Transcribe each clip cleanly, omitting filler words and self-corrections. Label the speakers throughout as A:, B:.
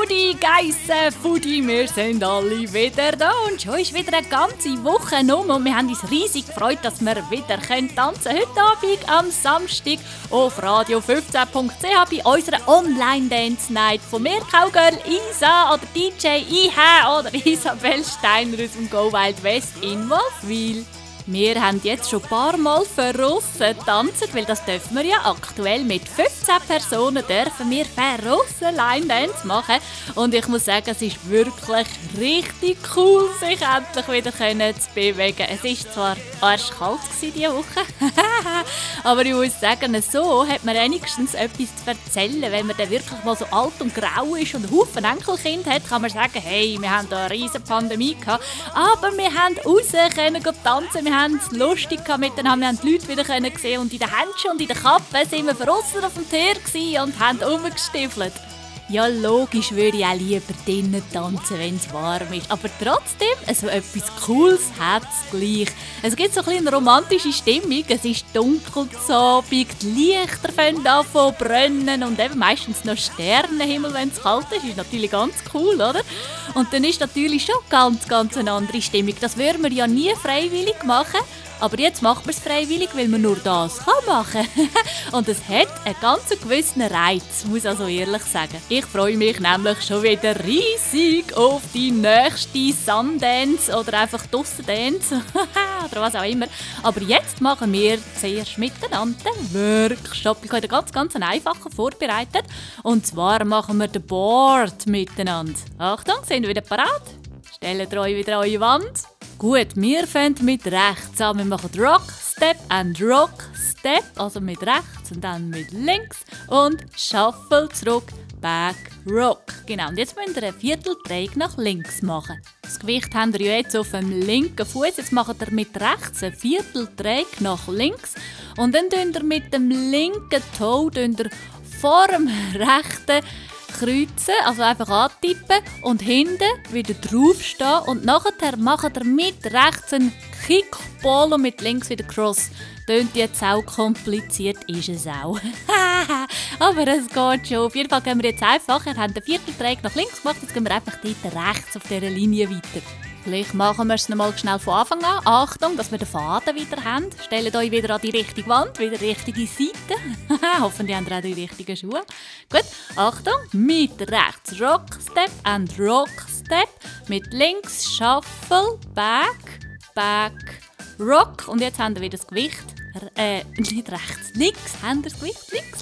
A: Geissen, Fudi, wir sind alle wieder da und schon ist wieder eine ganze Woche um und wir haben uns riesig gefreut, dass wir wieder tanzen können. Heute Abend am Samstag auf radio15.ch bei unserer Online-Dance-Night von mir, Cowgirl Isa oder DJ IHA oder Isabel Steiner aus dem Go Wild West in Wolfwil. Wir haben jetzt schon ein paar Mal verrissen getanzt, weil das dürfen wir ja aktuell mit 15 Personen dürfen wir verrissen Line-Dance machen. Und ich muss sagen, es ist wirklich richtig cool, sich endlich wieder zu bewegen. Es war zwar arschkalt diese Woche, aber ich muss sagen, so hat man wenigstens etwas zu erzählen. Wenn man dann wirklich mal so alt und grau ist und einen Haufen Enkelkind hat, kann man sagen, hey, wir haben da eine riesige Pandemie gehabt, aber wir haben raus können tanzen, wir haben es lustig miteinander, wir haben die Leute wieder gesehen und in den Händchen und in den Kappen sind wir draussen auf dem Tier und haben rumgestiefelt. Ja, logisch würde ich auch lieber drinnen tanzen, wenn es warm ist. Aber trotzdem, so etwas Cooles hat es gleich. Es gibt so eine romantische Stimmung. Es ist dunkel zu Abend, die Lichter fangen an zu brennen und eben meistens noch Sternenhimmel, wenn es kalt ist. Ist natürlich ganz cool, oder? Und dann ist natürlich schon ganz eine andere Stimmung. Das würden wir ja nie freiwillig machen. Aber jetzt macht man es freiwillig, weil man nur das machen kann. Und es hat einen ganz gewissen Reiz, muss ich also ehrlich sagen. Ich freue mich nämlich schon wieder riesig auf die nächste Sundance oder einfach Dussendance oder was auch immer. Aber jetzt machen wir zuerst miteinander den Workshop. Ich habe einen ganz einfachen vorbereitet. Und zwar machen wir den Board miteinander. Achtung, sind wir wieder parat? Stellt euch wieder an eure Wand. Gut, wir fangen mit rechts an. Wir machen Rock, Step and Rock, Step, also mit rechts und dann mit links und Shuffle zurück, Back, Rock. Genau, und jetzt müsst ihr einen Vierteldrehung nach links machen. Das Gewicht habt ihr ja jetzt auf dem linken Fuß. Jetzt macht ihr mit rechts einen Vierteldrehung nach links und dann könnt ihr mit dem linken Toe vor dem rechten kreuzen, also einfach antippen und hinten wieder draufstehen und nachher macht ihr mit rechts einen Kickball und mit links wieder Cross. Tönt jetzt auch kompliziert, ist es auch. Aber es geht schon. Auf jeden Fall gehen wir jetzt einfach. Wir haben den Vierteldrehung nach links gemacht, jetzt gehen wir einfach dort rechts auf dieser Linie weiter. Vielleicht machen wir es noch mal schnell von Anfang an. Achtung, dass wir den Faden wieder haben. Stellt euch wieder an die richtige Wand, wieder die richtige Seite. Hoffentlich habt ihr auch die richtigen Schuhe. Gut, Achtung, mit rechts Rock Step and Rock Step. Mit links Shuffle, Back, Rock. Und jetzt haben wir wieder das Gewicht. Nicht rechts, links haben wir das Gewicht. Links.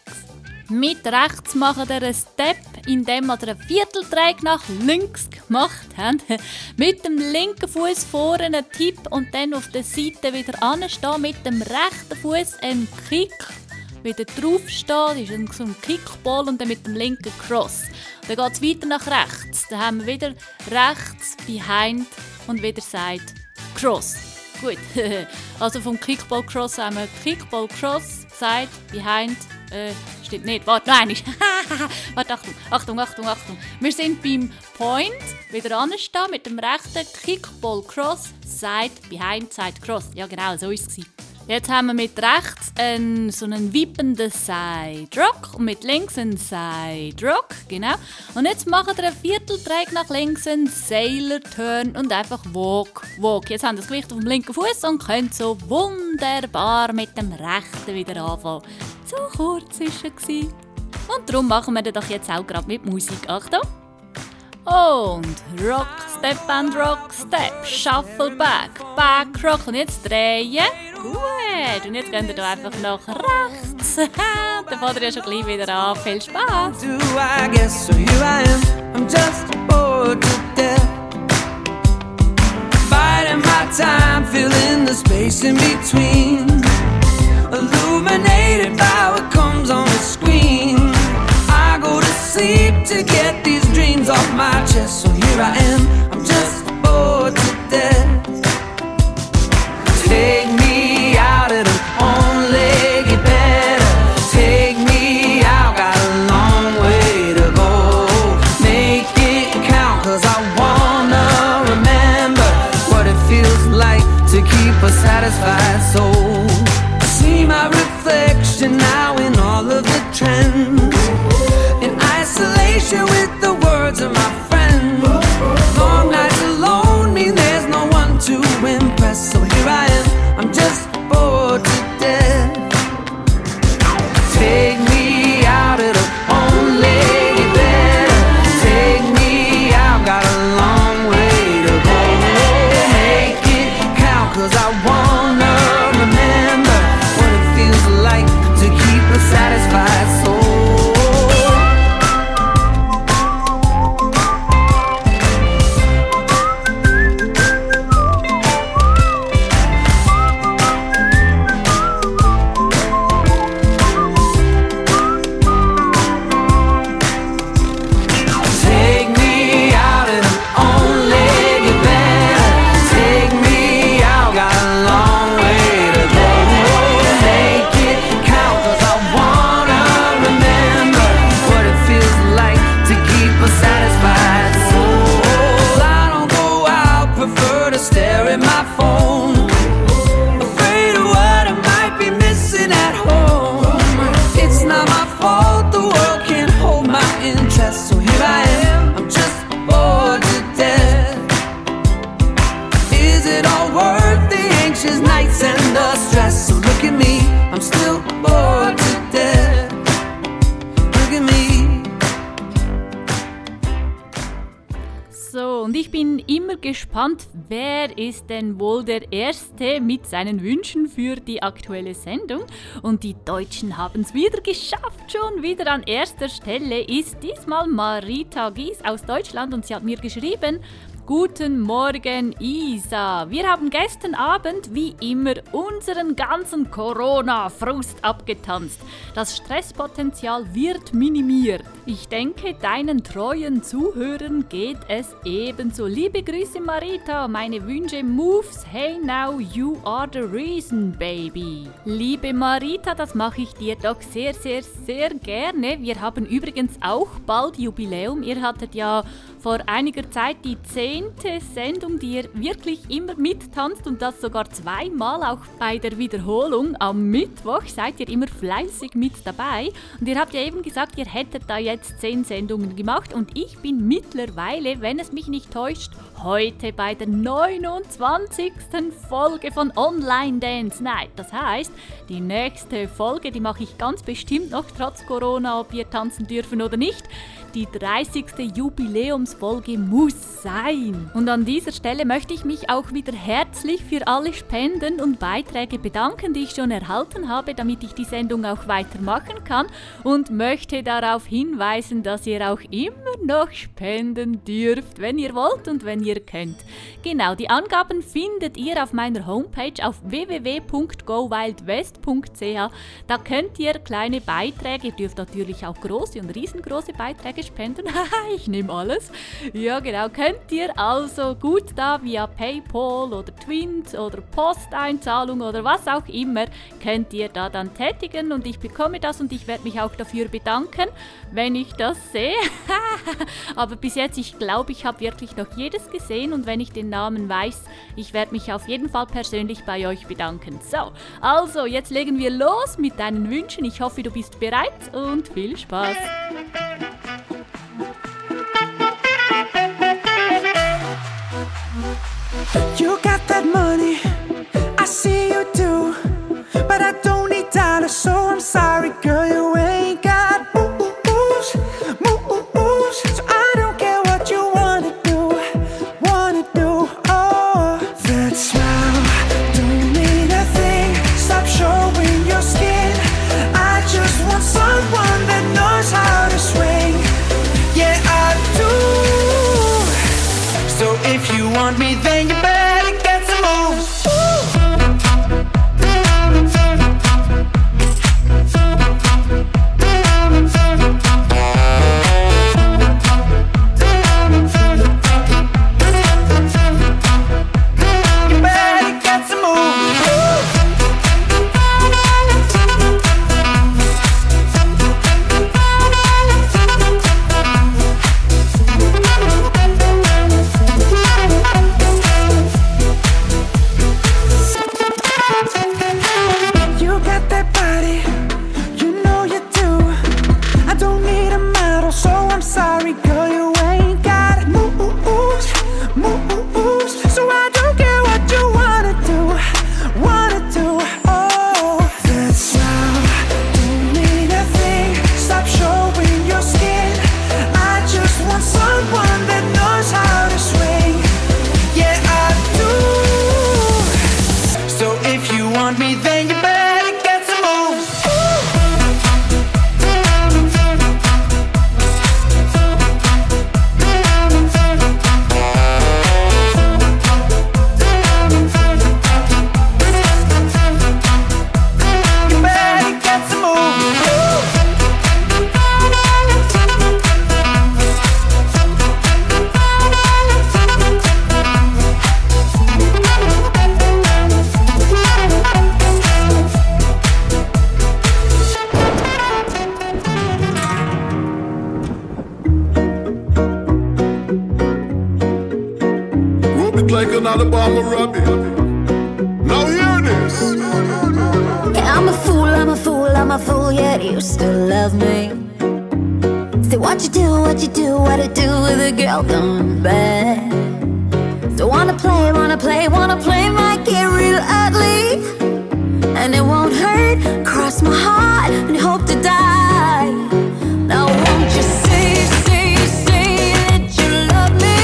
A: Mit rechts machen wir einen Step, indem wir einen Vierteldrehung nach links gemacht haben. Mit dem linken Fuß vorne einen Tipp und dann auf der Seite wieder anstehen. Mit dem rechten Fuß einen Kick, wieder draufstehen. Das ist so ein Kickball und dann mit dem linken Cross. Dann geht es weiter nach rechts. Dann haben wir wieder rechts, behind und wieder Side, Cross. Gut, also vom Kickball Cross haben wir Kickball Cross, Side, behind, stimmt nicht, warte, nein, warte, Achtung. Wir sind beim Point, wieder anstehen mit dem rechten Kickball Cross, Side, behind, Side, Cross. Ja genau, so war es. Jetzt haben wir mit rechts so einen wippenden Side Rock und mit links einen Side Rock, genau. Und jetzt machen wir einen Vierteldrehung nach links, einen Sailor Turn und einfach Walk. Jetzt haben wir das Gewicht auf dem linken Fuß und können so wunderbar mit dem rechten wieder anfangen. So kurz war es. Und darum machen wir das doch jetzt auch gerade mit Musik. Achtung! Und Rock, Step and Rock, Step, Shuffle, Back, Rock. Und jetzt drehen. Gut. Und jetzt gehen wir da einfach nach rechts. Dann fährt ihr ja schon gleich wieder an. Viel Spaß. I'm just bored to death. Biding my time, filling the space in between. Illuminated by what comes on the screen. I go to sleep to get these dreams off my chest. So here I am, I'm just bored to death. Take me out and I'm only get better. Take me out, got a long way to go. Make it count, cause I wanna remember what it feels like to keep a satisfied soul. See my reflection now in all of the trends, and I
B: isolation with the words of my friend. Long nights alone mean there's no one to impress. So here I am, I'm just bored to death. Take me out of the only better. Take me out, got a long way to go. Make it count, 'cause I wanna remember what it feels like to keep a satisfied soul.
A: Gespannt, wer ist denn wohl der Erste mit seinen Wünschen für die aktuelle Sendung? Und die Deutschen haben es wieder geschafft. Schon wieder an erster Stelle ist diesmal Marita Gies aus Deutschland und sie hat mir geschrieben: Guten Morgen, Isa. Wir haben gestern Abend wie immer unseren ganzen Corona-Frust abgetanzt. Das Stresspotenzial wird minimiert. Ich denke, deinen treuen Zuhörern geht es ebenso. Liebe Grüße, Marita. Meine Wünsche, Moves, hey now, you are the reason, baby. Liebe Marita, das mache ich dir doch sehr, sehr, sehr gerne. Wir haben übrigens auch bald Jubiläum. Ihr hattet ja vor einiger Zeit die 10. Sendung, die ihr wirklich immer mittanzt und das sogar zweimal, auch bei der Wiederholung am Mittwoch seid ihr immer fleißig mit dabei. Und ihr habt ja eben gesagt, ihr hättet da jetzt 10 Sendungen gemacht und ich bin mittlerweile, wenn es mich nicht täuscht, heute bei der 29. Folge von Online Dance Night. Das heißt, die nächste Folge, die mache ich ganz bestimmt noch, trotz Corona, ob wir tanzen dürfen oder nicht. Die 30. Jubiläumsfolge muss sein. Und an dieser Stelle möchte ich mich auch wieder herzlich für alle Spenden und Beiträge bedanken, die ich schon erhalten habe, damit ich die Sendung auch weitermachen kann. Und möchte darauf hinweisen, dass ihr auch immer noch spenden dürft, wenn ihr wollt und wenn ihr könnt. Genau, die Angaben findet ihr auf meiner Homepage auf www.gowildwest.ch. Da könnt ihr kleine Beiträge, ihr dürft natürlich auch große und riesengroße Beiträge spenden. Ich nehme alles. Ja genau, könnt ihr also gut da via PayPal oder Twint oder Posteinzahlung oder was auch immer, könnt ihr da dann tätigen und ich bekomme das und ich werde mich auch dafür bedanken, wenn ich das sehe. Aber bis jetzt, ich glaube, ich habe wirklich noch jedes gesehen und wenn ich den Namen weiß, ich werde mich auf jeden Fall persönlich bei euch bedanken. So, also jetzt legen wir los mit deinen Wünschen. Ich hoffe, du bist bereit und viel Spaß.
B: You got that money, I see you do, but I don't need dollars, so I'm sorry, girl, you ain't got moves, so I don't care what you wanna do, oh, that smile, don't mean a thing, stop showing your skin, I just want someone that knows how to swing, yeah, I do, so if you want me, then you better get some moves. want me, then you better get some moves.
C: Like an Alabama rabbit. Now hear this.
D: Yeah, I'm a fool, yet you still love me. Say what you do, what to do with a girl gone bad. So wanna play, might get real ugly. And it won't hurt, cross my heart and hope to die. Now won't you say that you love me?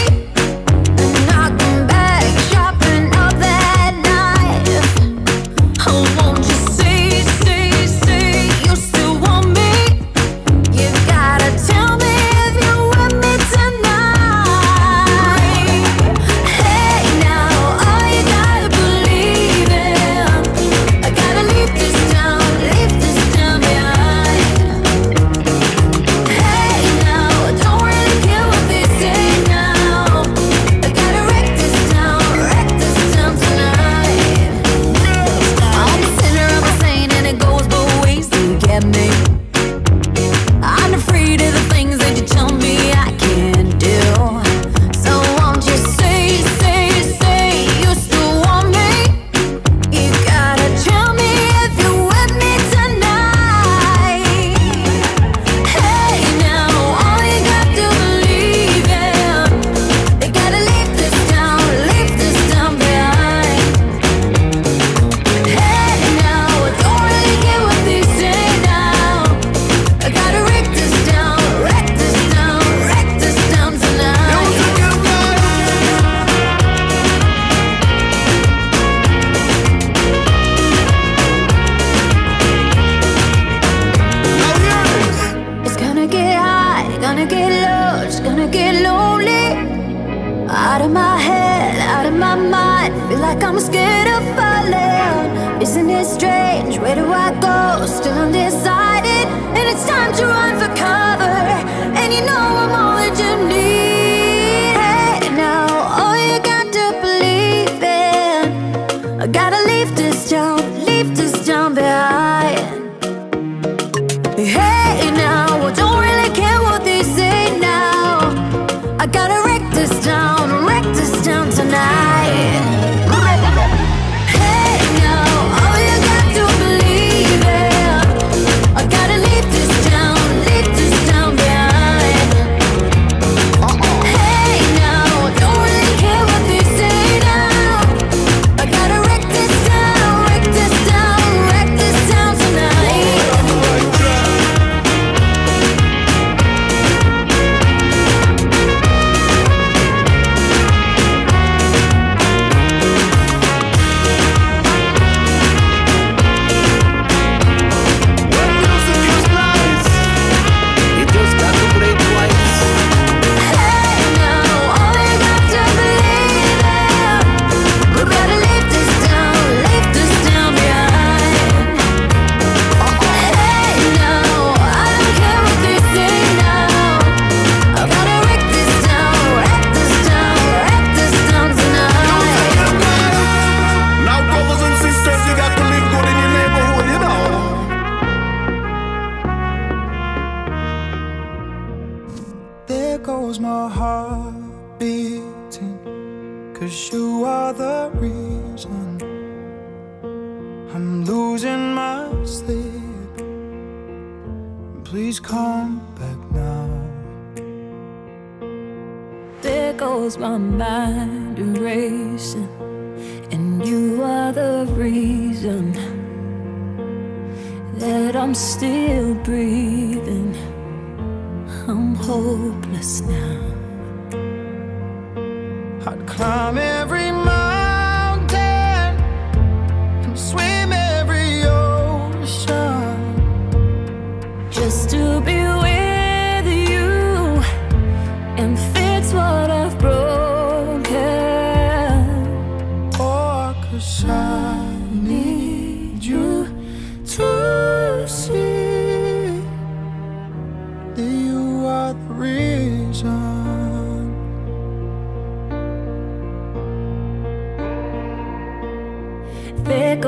B: I'd climb every mountain and swim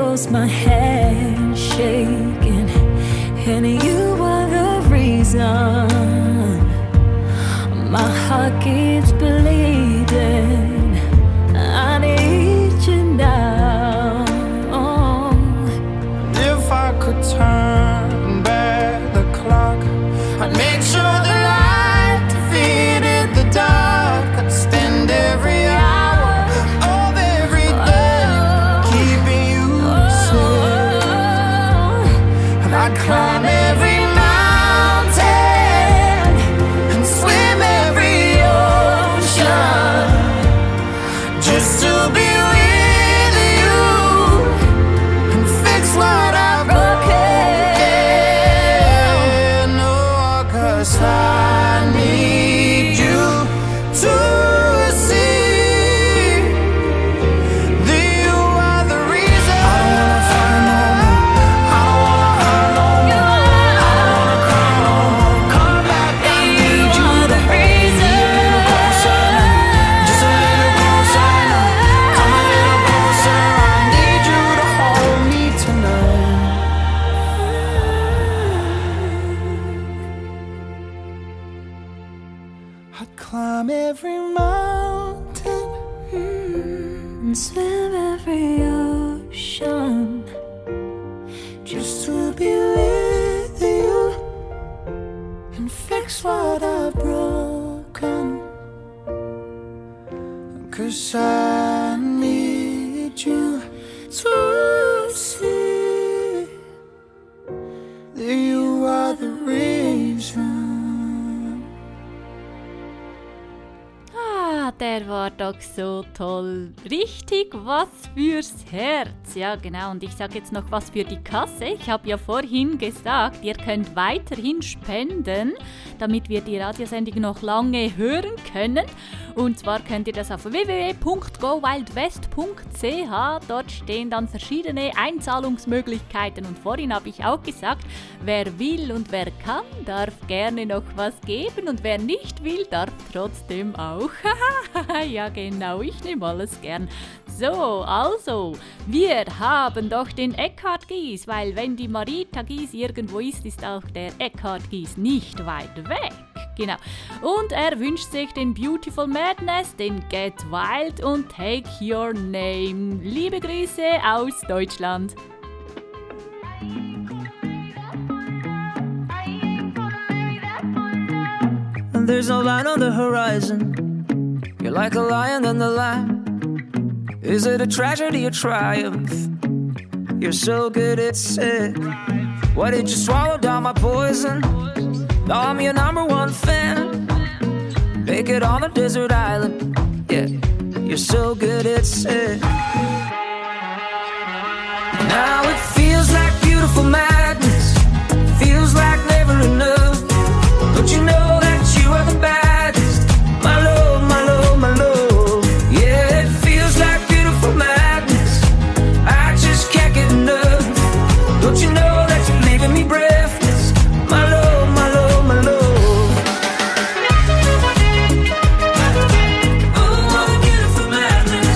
E: goes my head shaking, and you are the reason my heart keeps bleeding. I need you now.
B: If I could turn back the clock, I'd make sure the light defeated the dark. I'd spend every hour of every day keeping you safe, and I'd climb every mountain and swim every ocean just to be with you and fix what I've broken. No, 'cause I need you to see that you are the reason. I don't wanna fight no more. I don't wanna hurt no more. I don't wanna cry no more. Come back, I need you to hold me a little closer. Just a little closer now. Come a little closer. I need you to hold me tonight. I'd climb every mountain
E: And swim every ocean
B: just to be with you and fix what I've broken. 'Cause I need you to see that you are the reason.
A: Der war doch so toll. Richtig was fürs Herz. Ja, genau. Und ich sage jetzt noch was für die Kasse. Ich habe ja vorhin gesagt, ihr könnt weiterhin spenden, damit wir die Radiosendung noch lange hören können. Und zwar könnt ihr das auf www.gowildwest.ch. Dort stehen dann verschiedene Einzahlungsmöglichkeiten. Und vorhin habe ich auch gesagt, wer will und wer kann, darf gerne noch was geben. Und wer nicht will, darf trotzdem auch. Ja, genau, ich nehme alles gern. So, also, wir haben doch den Eckhard Gies, weil wenn die Marita Gies irgendwo ist, ist auch der Eckhard Gies nicht weit weg. Genau. Und er wünscht sich den Beautiful Madness, den Get Wild und Take Your Name. Liebe Grüße aus Deutschland.
F: And there's no line on the horizon. You're like a lion in the lamb. Is it a tragedy or triumph? You're so good at sick. Why did you swallow down my poison? Now I'm your number one fan. Make it on a desert island. Yeah, you're so good at sick. Now it feels like beautiful madness. Feels like never enough. Don't you know that you are the baddest? My love, my love, my love. Yeah, it feels like beautiful madness. I just can't get enough. Don't you know that you're leaving me breathless? My love, my love, my love. Oh, what a beautiful madness.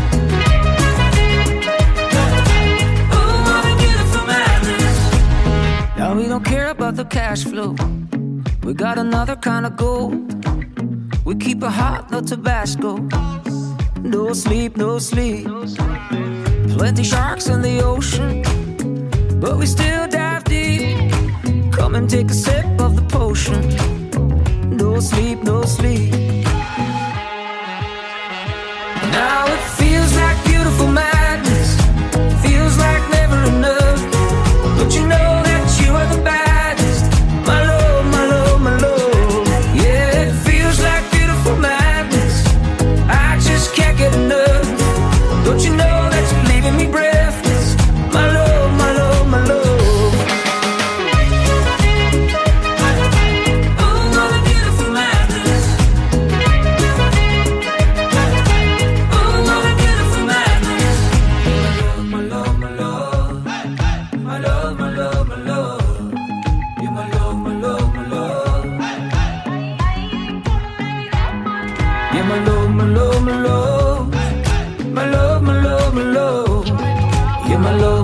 F: Oh, what a beautiful madness. Now we don't care about the cash flow. We got another kind of gold. We keep it hot, no Tabasco. No sleep, no sleep. Plenty sharks in the ocean, but we still dive deep. Come and take a sip of the potion. No sleep, no sleep. Now it feels like beautiful madness. Feels like never enough. Don't you know that you are the baddest? My love, my love, my love. Yeah, it feels like beautiful madness. I just can't get enough. Don't you know that you're leaving me breathless? My love, my love, my love. Oh, what a beautiful madness. Oh,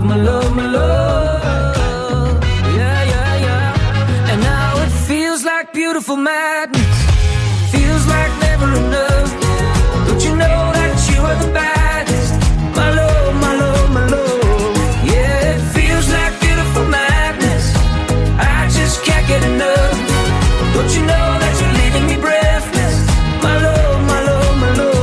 F: love, my love, my love. Yeah, yeah, yeah. And now it feels like beautiful madness. Feels like never enough. Don't you know that you are the baddest? My love, my love, my love. Yeah, it feels like beautiful madness. I just can't get enough. Don't you know that you're leaving me breathless? My love, my love, my love.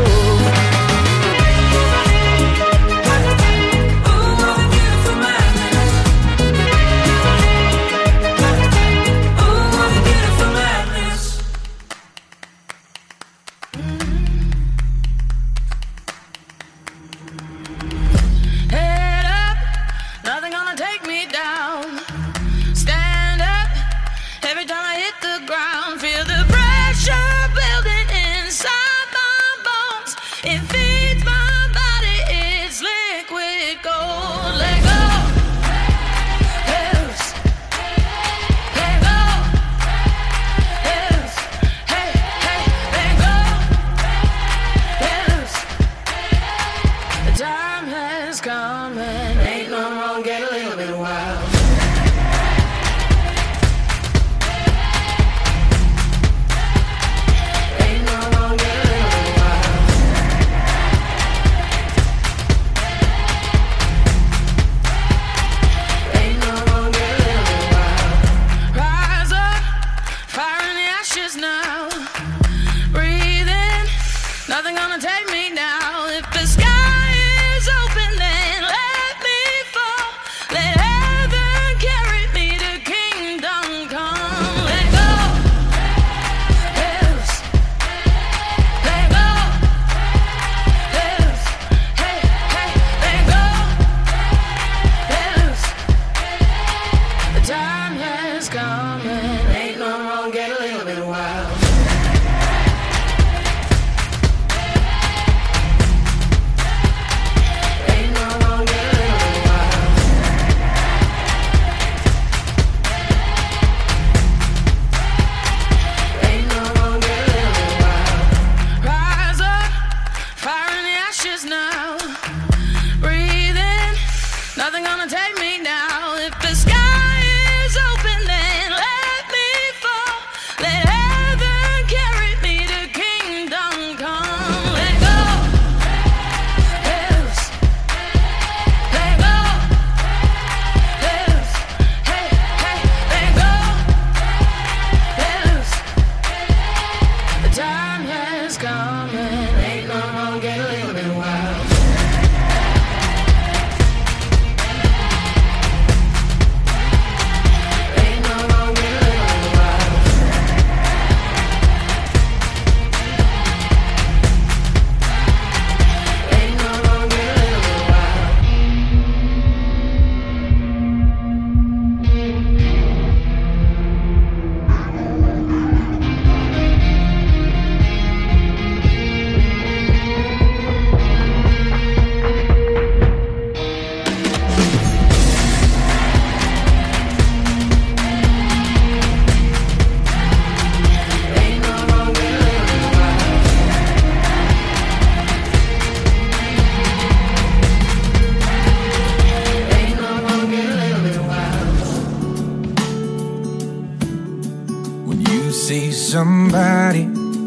G: Somebody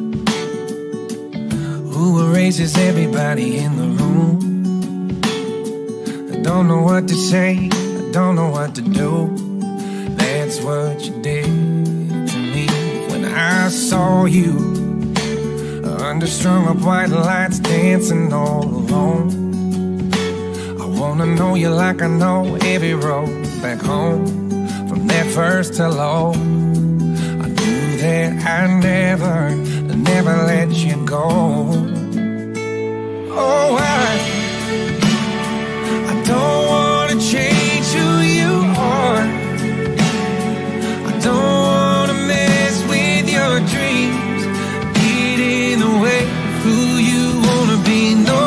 G: who erases everybody in the room. I don't know what to say, I don't know what to do. That's what you did to me when I saw you under strung up white lights, dancing all alone. I wanna know you like I know every road back home. From that first hello, that I never let you go. Oh, I don't wanna change who you are. I don't wanna mess with your dreams, get in the way of who you wanna be. No,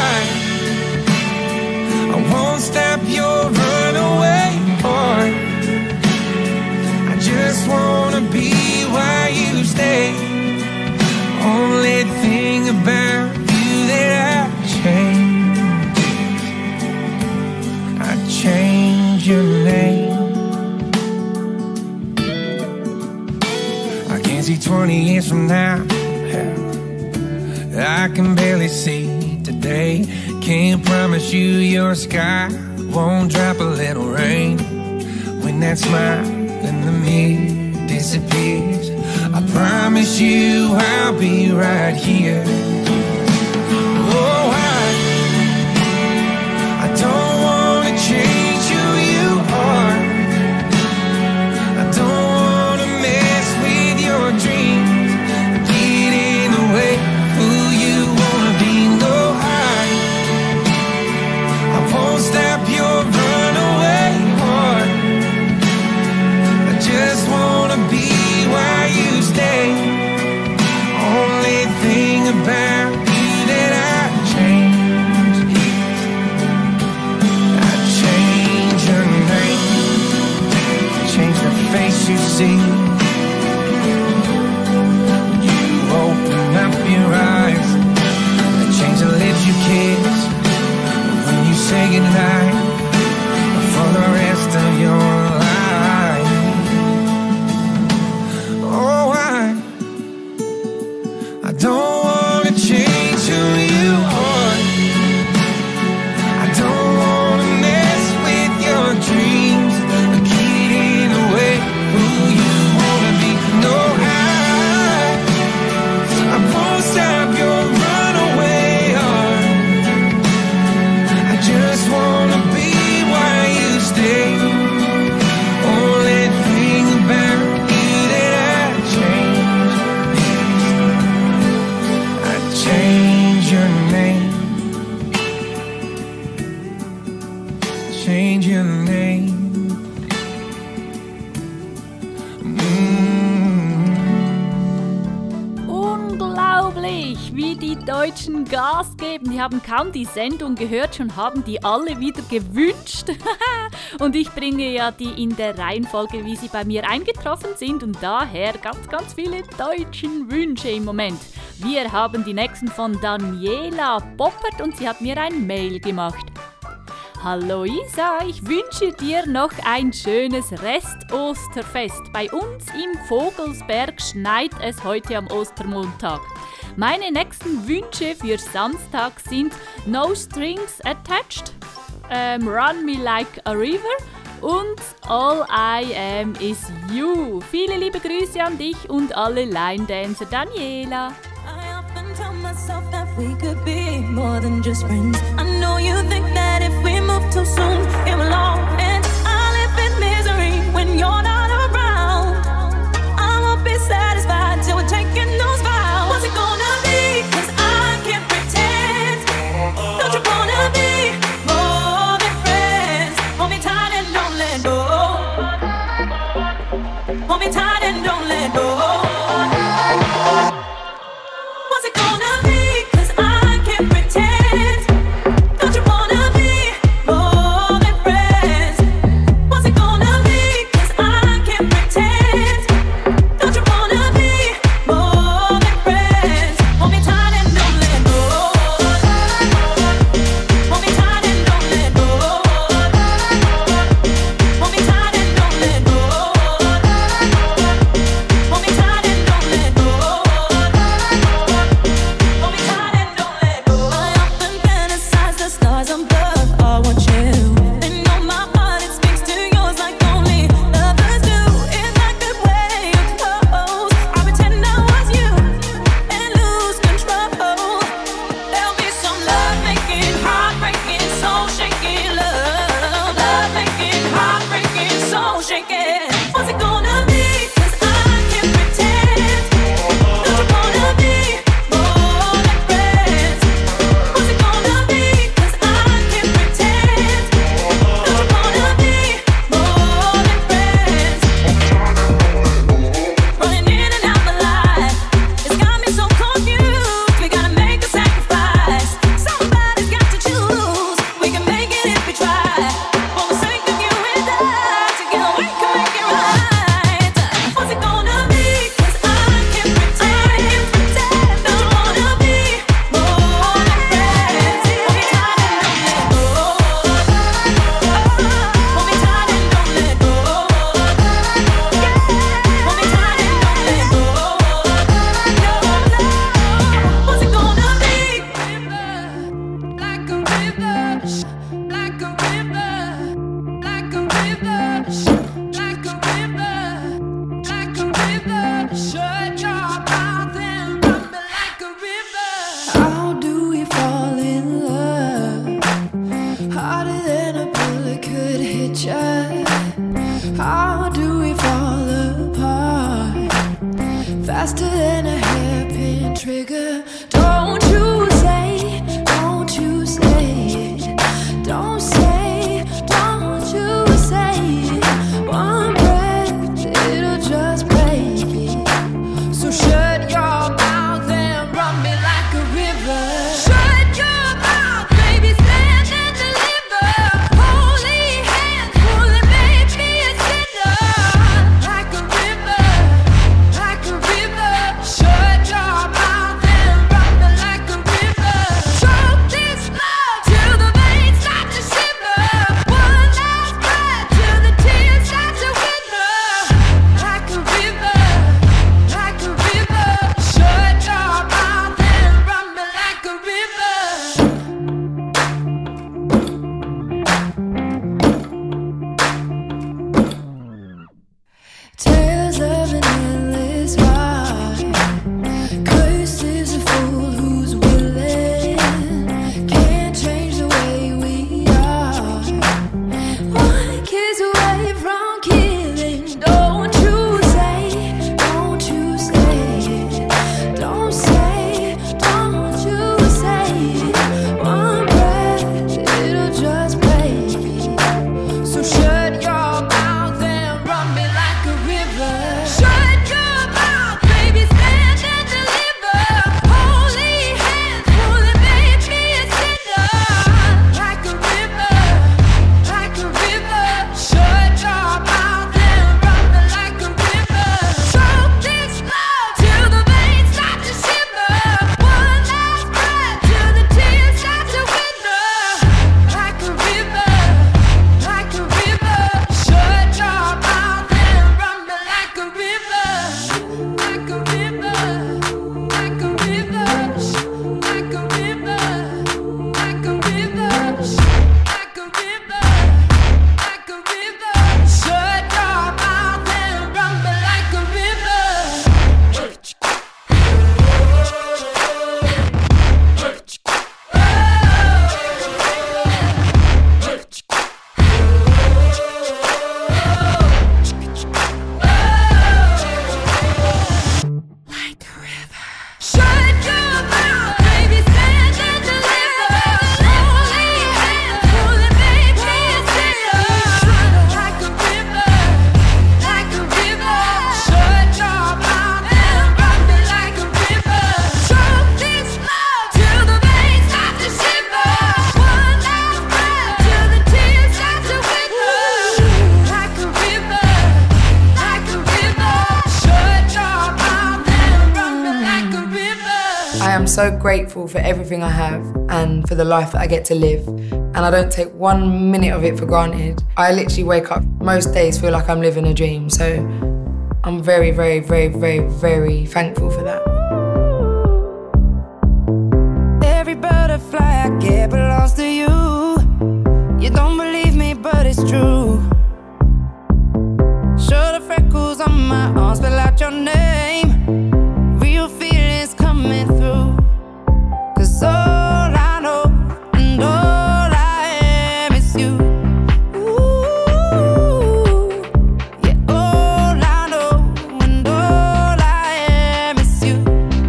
G: I won't stop your runaway heart. I just wanna be why you stay. Only thing about you that I change. change your name. I can see 20 years from now. I can barely see today. Can't promise you your sky won't drop a little rain when that smile in the mirror disappears. I promise you I'll be right here. Oh, I don't wanna change who you are. I don't wanna mess with your dreams, get in the way of who you wanna be. No, I won't stop your runaway heart. I just wanna be where you stay. Only thing about you that I change your name, change the face you see. You open up your eyes, change the lips you kiss when you say goodnight for the rest of your life. Oh, I don't wanna change who you are. I don't wanna mess with your dreams, get in the way who you wanna be. No, I won't stop your runaway heart. I just wanna be where you stay. Only thing about you that I change your name, change your name.
A: Unglaublich, wie die Deutschen Gas geben. Die haben kaum die Sendung gehört, schon haben die alle wieder gewünscht. Und ich bringe ja die in der Reihenfolge, wie sie bei mir eingetroffen sind. Und daher ganz, ganz viele deutschen Wünsche im Moment. Wir haben die nächsten von Daniela Poppert und sie hat mir ein Mail gemacht. Hallo Isa, ich wünsche dir noch ein schönes Rest-Osterfest. Bei uns im Vogelsberg schneit es heute am Ostermontag. Meine nächsten Wünsche für Samstag sind No Strings Attached, Run Me Like a River und All I Am Is You. Viele liebe Grüße an dich und alle Line Dancer. Daniela.
E: I often tell myself that we could be more than just friends. I know you think that if we move too soon, it will all end. I live in misery when you're not around. I won't be satisfied till we're taking those vows. What's it gonna be? 'Cause I can't pretend. Don't you wanna be more than friends? Hold me tight and don't let go. Hold me tight and don't let go. What's it gonna be? 'Cause I can't pretend. Don't you wanna be more than friends?
H: Faster than a hairpin trigger. Don't you say, don't you say it. Don't say, don't you say it. One breath, it'll just break it. So shut your mouth and run me like a river. Shut your mouth, baby, stand and deliver. Holy hands, pulling, make me a sinner. Like a river, like a river. Shut your mouth and run me like a river. Choke this love till the veins start to shiver. One last breath till the tears start to wither. Like a river, like a river. Shut your mouth and run me like a river. Tales of an endless ride. Cursed is a fool who's willing. Can't change the way we are. One kiss away from killing. Don't you say, don't you say it. Don't say, don't you say it. One breath, it'll just break it. So shut your mouth and run me like a river. Shut your mouth, baby, stand and deliver. Holy hands, pulling, make me a sinner. Like a river, like a river. Shut your mouth and run me like a river. Choke this love till the veins start to shiver. One last breath till the tears start to wither. Like a river, like a river. Shut your mouth and run me like a river. Like a river, like a river. Like a river, like a river. Like a river, like a river. Shut your mouth and run me like a river. Like a river. Shut your mouth, baby, stand and deliver. Holy hands, pulling, make me a sinner. Like a river, like a river. Shut your mouth and run me like a river. Choke this love till the veins start to shiver. One last breath till the tears start to wither. Like a river, like a river. Shut your mouth and run me like a river.
I: I am so grateful for everything I have and for the life that I get to live. And I don't take 1 minute of it for granted. I literally wake up most days feel like I'm living a dream. So I'm very, very, very, very, very thankful for that.
F: Every butterfly I get belongs to you. You don't believe me, but it's true. Show the freckles on my arms, spell out your name. Real feelings coming through. 'Cause all I know and all I am is you. Ooh, yeah, all I know and all I am is you.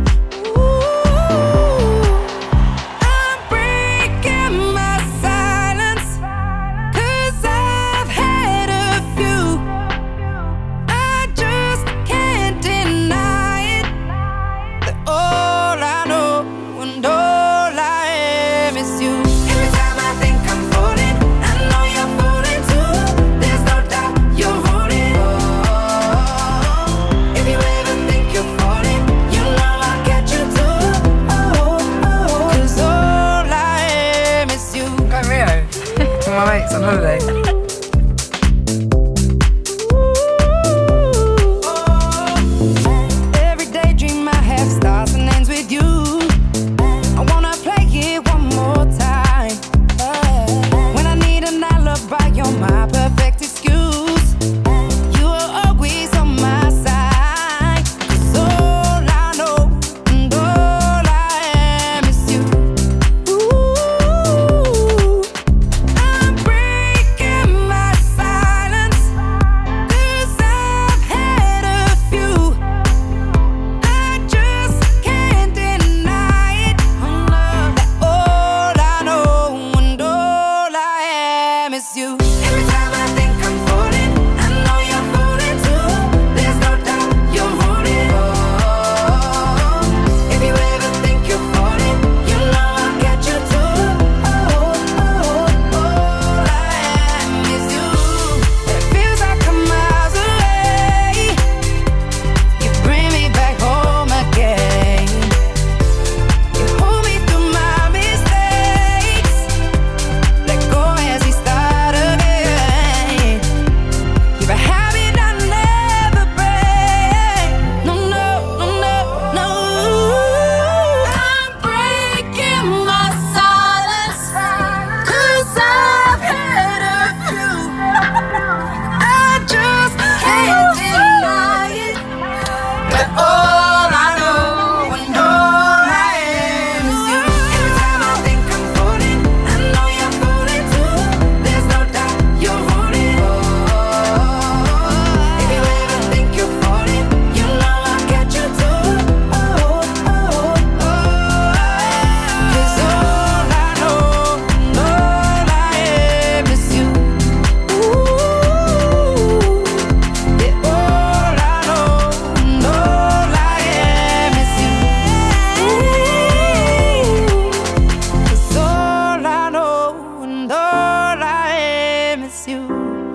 F: Ooh, I'm breaking my silence, 'cause I've had a few. I just can't deny it, that all I know and all I am is you. Every time I think I'm falling, I know you're falling too. There's no doubt you're falling. If you ever think you're falling, you know I'll catch you too. 'Cause all I am is you.
I: Go Rio. With my mates on holiday.
F: Every daydream I have starts and ends with you. I wanna play it one more time. When I need an alibi, you're my perfect excuse.
H: miss you.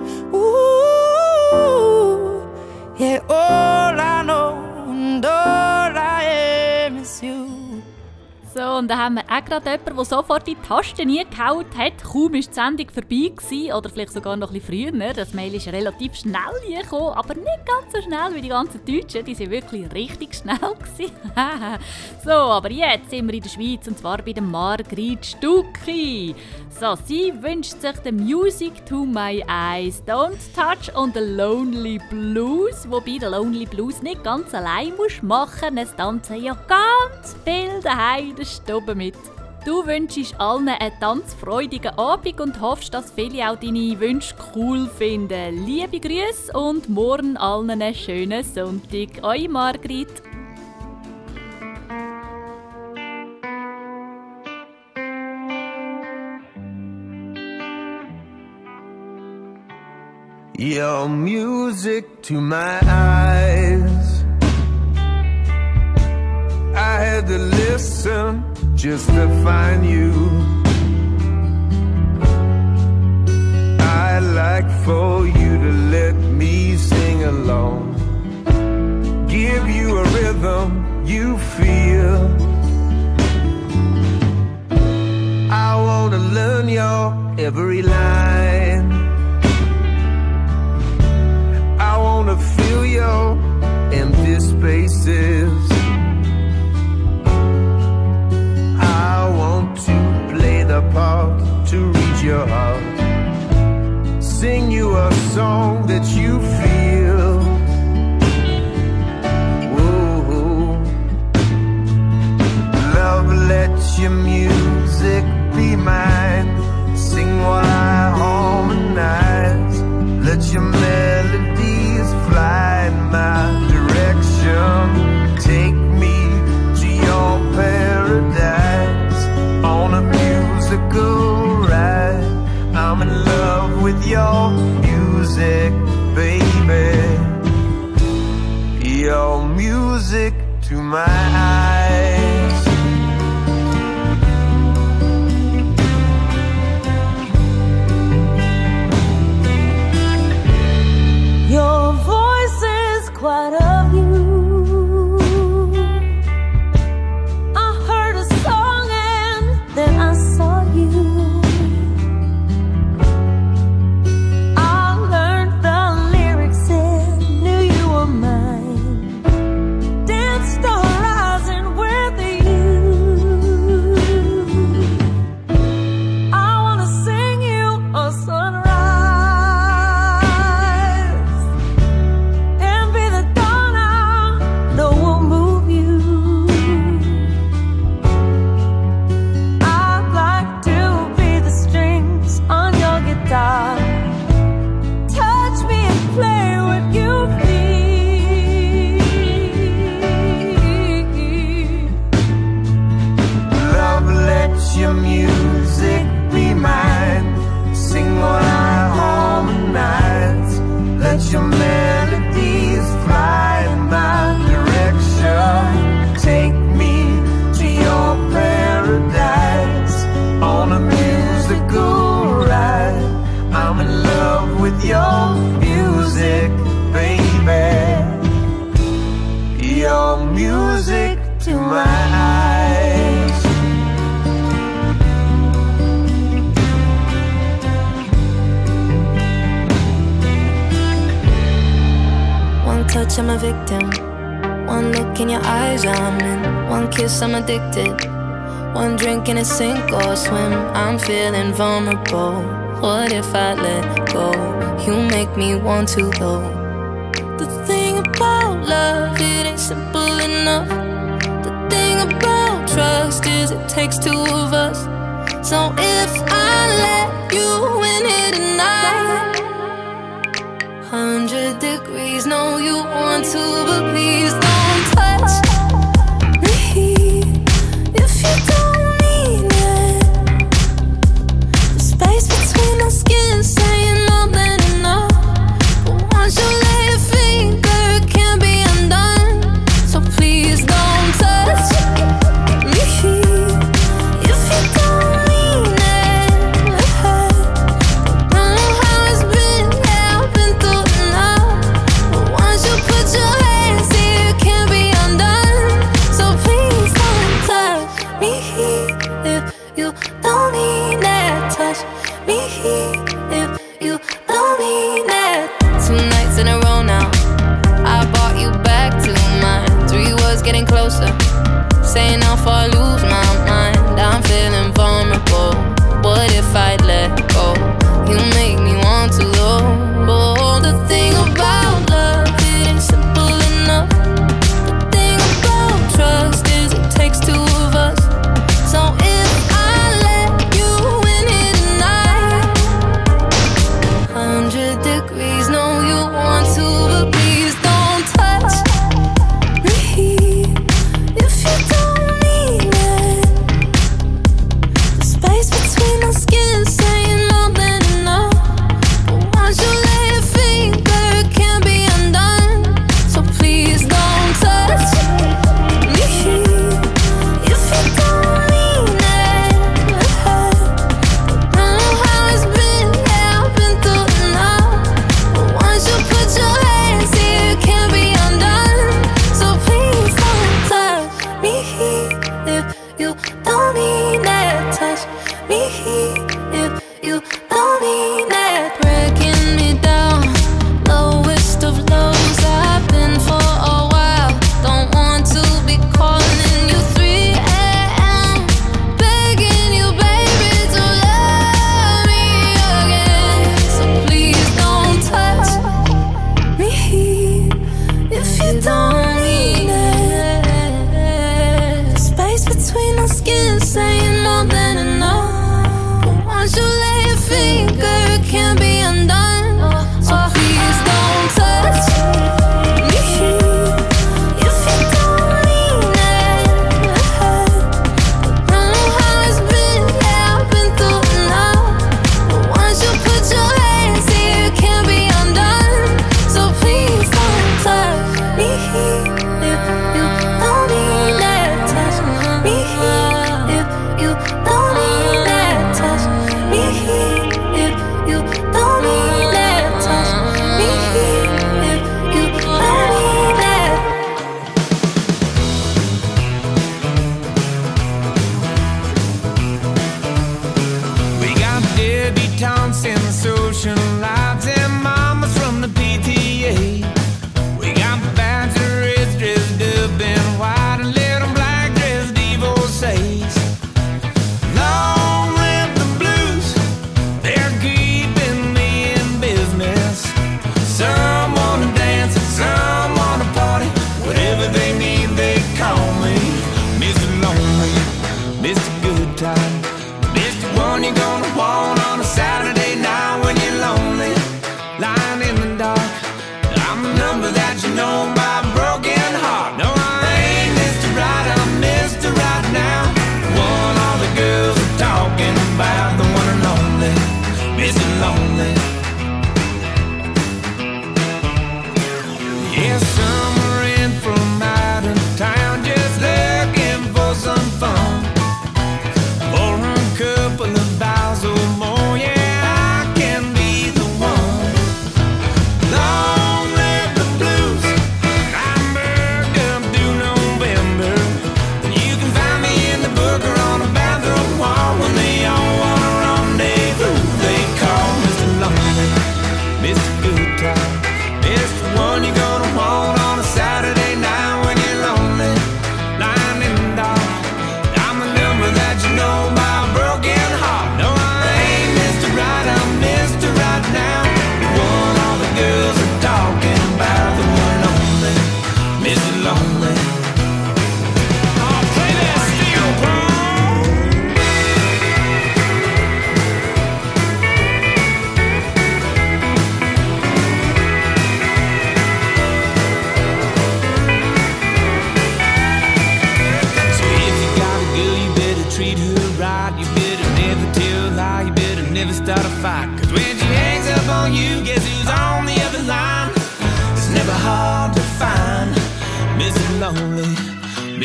H: Ooh, yeah, all I know and all I am is you.
A: So, und dann haben wir auch gerade jemanden, der sofort in die Tasten gehauen hat. Kaum war die Sendung vorbei gewesen, oder vielleicht sogar noch ein bisschen früher. Das Mail ist relativ schnell gekommen, aber nicht ganz so schnell wie die ganzen Deutschen. Die waren wirklich richtig schnell gewesen. So, aber jetzt sind wir in der Schweiz, und zwar bei der Margrit Stucki. So, sie wünscht sich the Music to my eyes, Don't Touch und the Lonely Blues. Wobei der Lonely Blues nicht ganz allein musst machen. Es tanzen ja ganz viel daheim in der Stube mit. Du wünschst allen einen tanzfreudigen Abend und hoffst, dass viele auch deine Wünsche cool finden. Liebe Grüße und morgen allen einen schönen Sonntag. Eure Margrit.
G: Your music to my eyes. I had to listen just to find you. I'd like for you to let me sing along. Give you a rhythm you feel. I wanna learn your every line. I wanna fill your empty spaces. I want to play the part to reach your heart. Sing you a song that you feel. Whoa. Love, let your music be mine. Sing while I harmonize. Let your melodies fly in my direction. Take me to your paradise on a musical ride. I'm in love with your music, baby. Your music to my eyes.
E: Your voice is quite a view. I heard a song and then I saw you. I learned the lyrics and knew you were mine. Danced the horizon with you. I wanna sing you a sunrise. Touch me and play what you feel.
G: Love, let your music be mine. Sing while I harmonize. Let your melodies fly in my direction. Take me to your paradise on a musical ride. I'm in love with your music, baby. Your music to my eyes.
H: One touch, I'm a victim. One look in your eyes, I'm in. One kiss, I'm addicted. One drink and a sink or swim. I'm feeling vulnerable. What if I let go? You make me want to though. The thing about love, it ain't simple enough. The thing about trust is it takes two of us. So if I let you in here tonight, 100 degrees, no you want to, but please don't touch me if you don't mean it. The space between our skin saying more than enough, but once you lay your finger it can't be undone. So please don't touch me if you don't mean it. Don't know how it's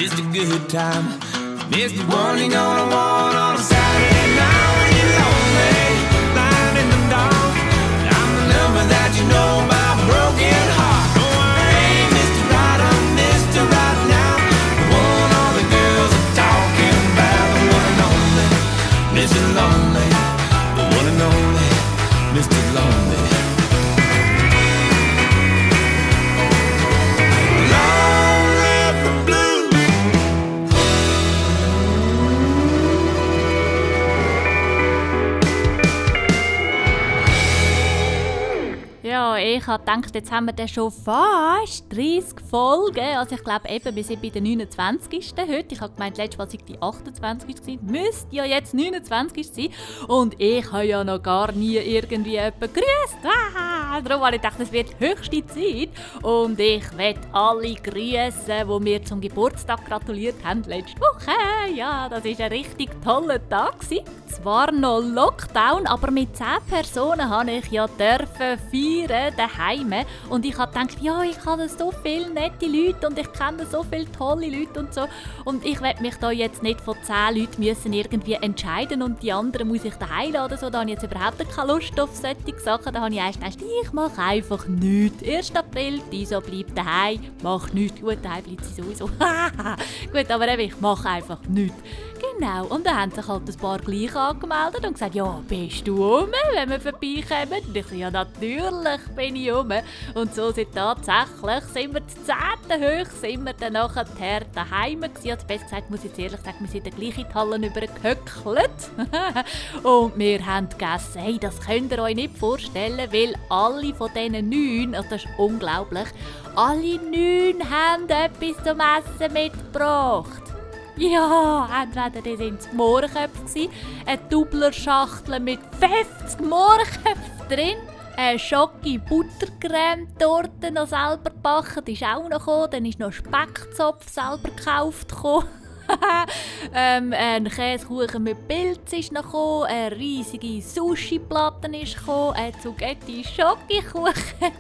G: Mr. Good Time, Mr. One you're gonna want on a Saturday night when you're lonely, lying in the dark. I'm the number that you know by broken heart. Oh, I ain't Mr. Right, I'm Mr. Right now. The one all the girls are talking about, the one and only Mr. Lonely, the one and only Mr. Lonely.
A: Ja, ich habe gedacht, jetzt haben wir dann schon fast 30 Folgen. Also ich glaube eben, wir sind bei der 29. heute. Ich habe gemeint, letztes Mal sei die 28. gewesen. Müsste ja jetzt 29. sein. Und ich habe ja noch gar nie irgendwie jemanden gegrüßt. Darum habe ich gedacht, es wird höchste Zeit. Und ich möchte alle grüßen, die mir zum Geburtstag gratuliert haben letzte Woche. Ja, das war ein richtig toller Tag gewesen. Zwar noch Lockdown, aber mit 10 Personen durfte ich ja feiern daheim. Und ich habe gedacht, ja, ich habe so viele nette Leute und ich kenne so viele tolle Leute und so. Und ich werde mich da jetzt nicht von 10 Leuten müssen irgendwie entscheiden und die anderen muss ich daheim laden. So, da habe ich jetzt überhaupt keine Lust auf solche Sachen. Da habe ich erst gedacht, ich mache einfach nichts. 1. April, Iso bleibt daheim, macht nichts. Gut, daheim bleibt sie sowieso. Gut, aber eben, ich mache einfach nichts. Genau, und dann haben sich halt ein paar gleich angemeldet und gesagt, ja, bist du rum, wenn wir vorbeikommen? Und ich so, ja, natürlich bin ich rum. Und so sind tatsächlich, sind wir zu 10. hoch, sind wir dann nachher daheim gewesen. Also besser gesagt, muss ich jetzt ehrlich sagen, wir sind gleich in die Hallen übergehöckelt. Und wir haben gegessen. Hey, das könnt ihr euch nicht vorstellen, weil alle von diesen 9, also das ist unglaublich, alle 9 haben etwas zum Essen mitgebracht. Ja, entweder die waren die Mohrenköpfe, eine Doubler-Schachtel mit 50 Mohrenköpfen drin, eine Schoki-Buttercreme-Torte noch selber gebacken, die ist auch noch gekommen, dann ist noch Speckzopf selber gekauft ein Käsekuchen mit Pilz ist noch gekommen, eine riesige Sushi-Platte ist gekommen, ein Zucchetti-Schoki-Kuchen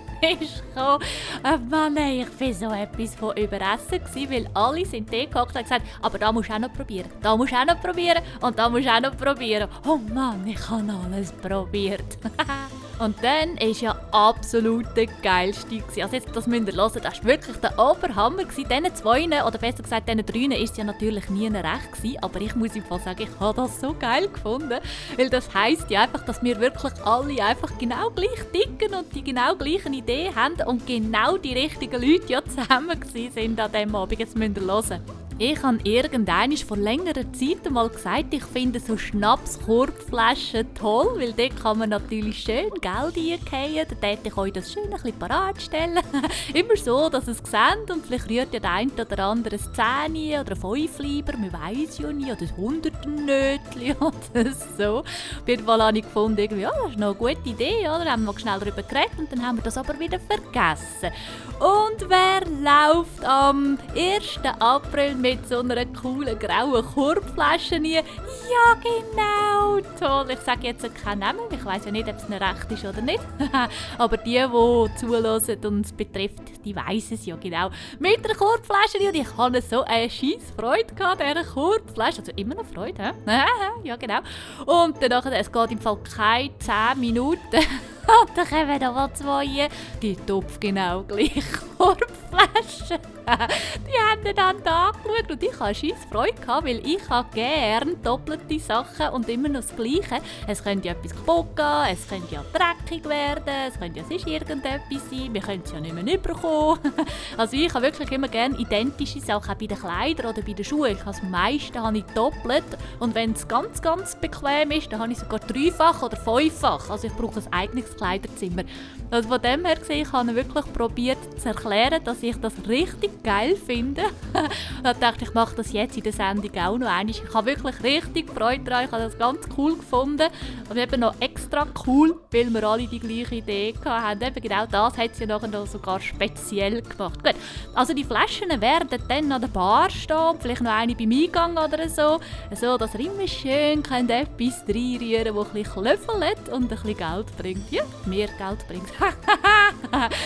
A: ist gekommen. Mann, ich war so etwas von überessen, weil alle sind da gehockt und gesagt, aber da musst du auch noch probieren, da musst du auch noch probieren und da musst du auch noch probieren. Oh Mann, ich habe alles probiert. Und dann war ja absolut der geilste. Also jetzt, das müsst ihr hören, das war wirklich der Oberhammer. Diesen 2, oder besser gesagt diesen 3, war es ja natürlich nie recht gewesen. Aber ich muss einfach sagen, ich habe das so geil gefunden. Weil das heisst ja einfach, dass wir wirklich alle einfach genau gleich ticken und die genau gleichen Ideen haben und genau die richtigen Leute ja zusammen waren an diesem Abend. Jetzt müsst ihr hören. Ich habe irgendwann vor längerer Zeit einmal gesagt, ich finde so Schnapskorbflaschen toll, weil dort kann man natürlich schön Geld eingehen. Dann hätte ich euch das schön ein bisschen parat stellen. Immer so, dass ihr es seht und vielleicht rührt ja der eine oder andere ein 10 oder ein 5 lieber, man weiss ja nicht, oder ein 100 Nötchen oder so. Auf jeden Fall habe ich gefunden, irgendwie, ja, das ist noch eine gute Idee, oder? Dann haben wir schnell darüber geredet und dann haben wir das aber wieder vergessen. Und wer läuft am 1. April mit so einer coolen grauen Korbflasche rein? Ja, genau, toll. Ich sage jetzt keinen Namen, ich weiss ja nicht, ob es noch recht ist oder nicht. Aber die zuhören und es betrifft, die weiss es ja genau. Mit einer Korbflasche und ich hatte so eine scheisse Freude an dieser Korbflasche. Also immer noch Freude, hä? Ja, genau. Und danach, es geht im Fall keine 10 Minuten. Und dann kommen da mal 2, die Topf genau gleich Korbflaschen. Die haben dann angeschaut und ich hatte scheisse Freude, weil ich habe gerne doppelte Sachen und immer noch das Gleiche. Es könnte ja etwas kaputt gehen, es könnte ja dreckig werden, es könnte ja sonst irgendetwas sein, wir können es ja nicht mehr überkommen. Also ich habe wirklich immer gerne identische Sachen, auch bei den Kleidern oder bei den Schuhen. Das meiste habe ich doppelt und wenn es ganz, ganz bequem ist, dann habe ich sogar 3-fach oder 5-fach. Also ich brauche ein eigenes Kleiderzimmer. Also von dem her gesehen, ich habe wirklich probiert zu erklären, dass ich das richtig geil finde. Dann dachte ich, mache das jetzt in der Sendung auch noch einmal. Ich habe wirklich richtig Freude daran. Ich habe das ganz cool gefunden. Und eben noch extra cool, weil wir alle die gleiche Idee hatten. Eben genau das hat sie ja nachher noch sogar speziell gemacht. Gut, also die Flaschen werden dann an der Bar stehen, vielleicht noch eine beim Eingang oder so. So, dass ihr immer schön etwas reinrühren könnt, das ein bisschen klöffelt und ein bisschen Geld bringt. Ja, mehr Geld bringt.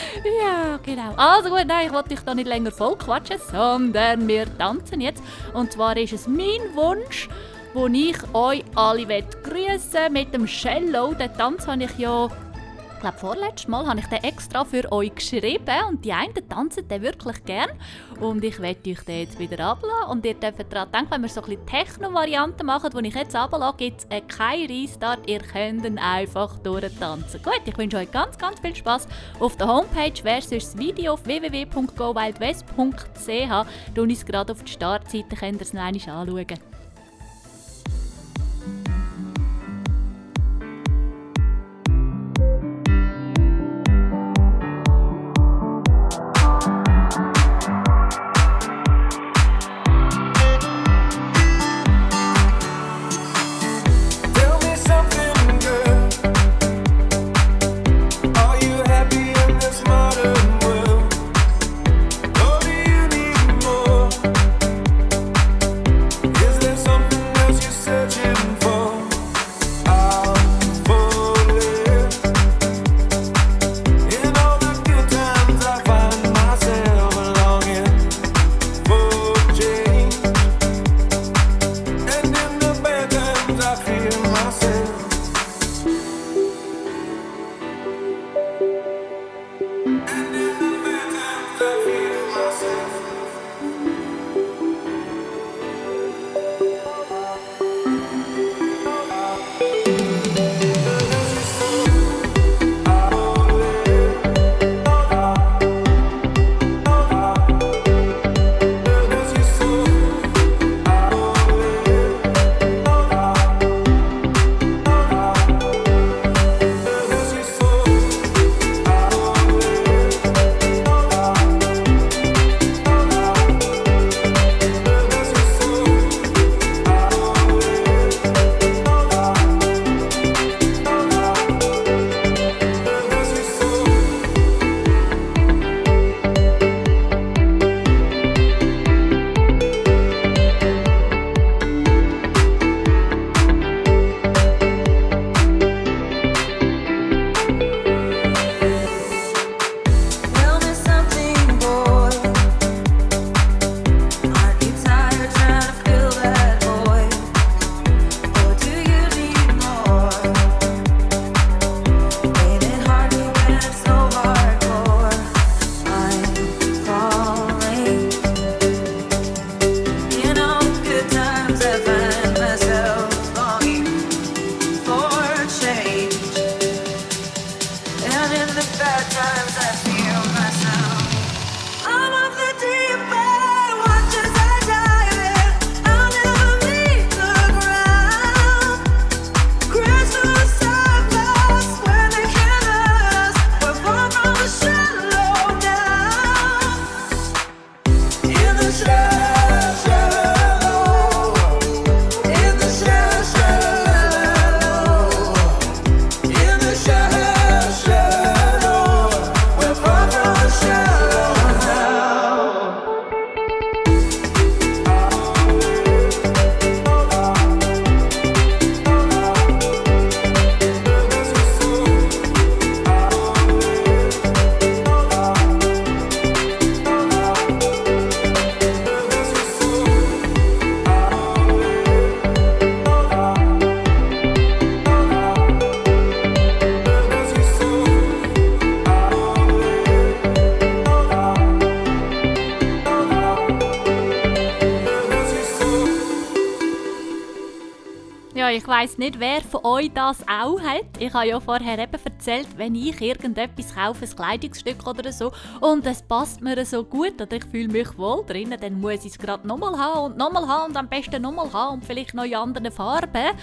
A: Ja, genau. Also gut, nein, ich wollte dich da nicht länger voll quatschen, sondern wir tanzen jetzt. Und zwar ist es mein Wunsch, wo ich euch alle grüßen mit dem Cello. Den Tanz habe ich ja, ich glaube vorletztes Mal, habe ich den extra für euch geschrieben. Und die einen tanzen den wirklich gern. Und ich werde euch den jetzt wieder ablassen. Und ihr dürft daran denken, wenn wir so ein bisschen Techno-Varianten machen, die ich jetzt ablasse, gibt es keinen Restart. Ihr könnt ihn einfach durchtanzen. Gut, ich wünsche euch ganz, ganz viel Spass. Auf der Homepage wäre sonst das Video auf www.gowildwest.ch. Du uns gerade auf die Startseite, könnt ihr es noch einmal anschauen. Ich weiss nicht, wer von euch das auch hat. Ich habe ja vorher eben erzählt, wenn ich irgendetwas kaufe, ein Kleidungsstück oder so, und es passt mir so gut oder ich fühle mich wohl drin, dann muss ich es gerade nochmal haben und am besten nochmal haben und vielleicht noch in anderen Farben.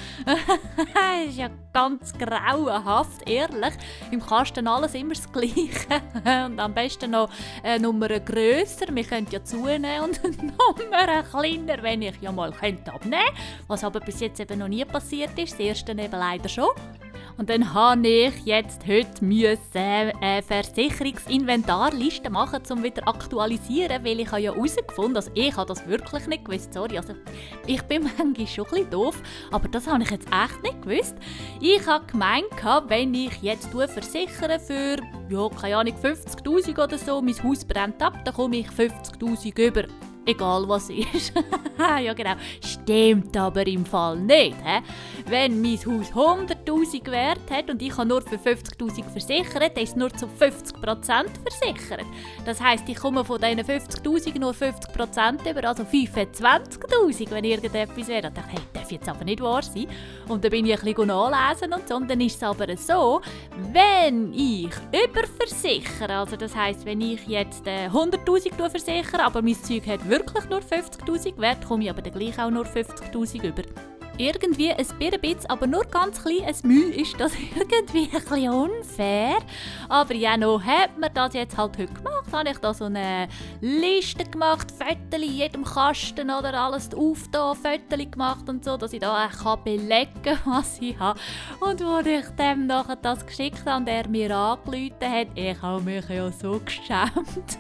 A: Das ist ja ganz grauenhaft, ehrlich. Im Kasten alles immer das Gleiche. Und am besten noch eine Nummer grösser. Wir können ja zunehmen und eine Nummer kleiner, wenn ich ja mal abnehmen könnte. Was aber bis jetzt eben noch nie passiert ist. Das erste eben leider schon. Und dann habe ich jetzt heute eine Versicherungsinventarliste machen, um wieder aktualisieren, weil ich ja herausgefunden habe, also ich habe das wirklich nicht gewusst, sorry, also ich bin manchmal schon ein bisschen doof, aber das habe ich jetzt echt nicht gewusst. Ich habe gemeint, wenn ich jetzt versichere für, ja, keine Ahnung, 50'000 oder so, mein Haus brennt ab, dann komme ich 50'000 über. Egal was ist. Ja genau, stimmt aber im Fall nicht. Wenn mein Haus 100'000 Wert hat und ich habe nur für 50'000 versichert, dann ist es nur zu 50% versichert. Das heisst, ich komme von diesen 50'000 nur 50% über, also 25'000, wenn irgendetwas wäre. Ich dachte, hey, darf jetzt aber nicht wahr sein. Und dann bin ich ein bisschen nachlesen und so. Und dann ist es aber so, wenn ich überversichere, also das heisst, wenn ich jetzt 100'000 versichere, aber mein Zeug hat wirklich nur 50'000 Wert, komme ich aber dann gleich auch nur 50'000 über. Irgendwie ein bisschen, aber nur ganz klein ein Mühe ist das irgendwie ein bisschen unfair. Aber ja, noch hat man das jetzt halt heute gemacht. Habe ich da so eine Liste gemacht, Fotos in jedem Kasten oder alles aufgetan, Fotos gemacht und so, dass ich da auch belegen kann, was ich habe. Und als ich dem nachher das geschickt habe und er mir angerufen hat, ich habe mich ja so geschämt.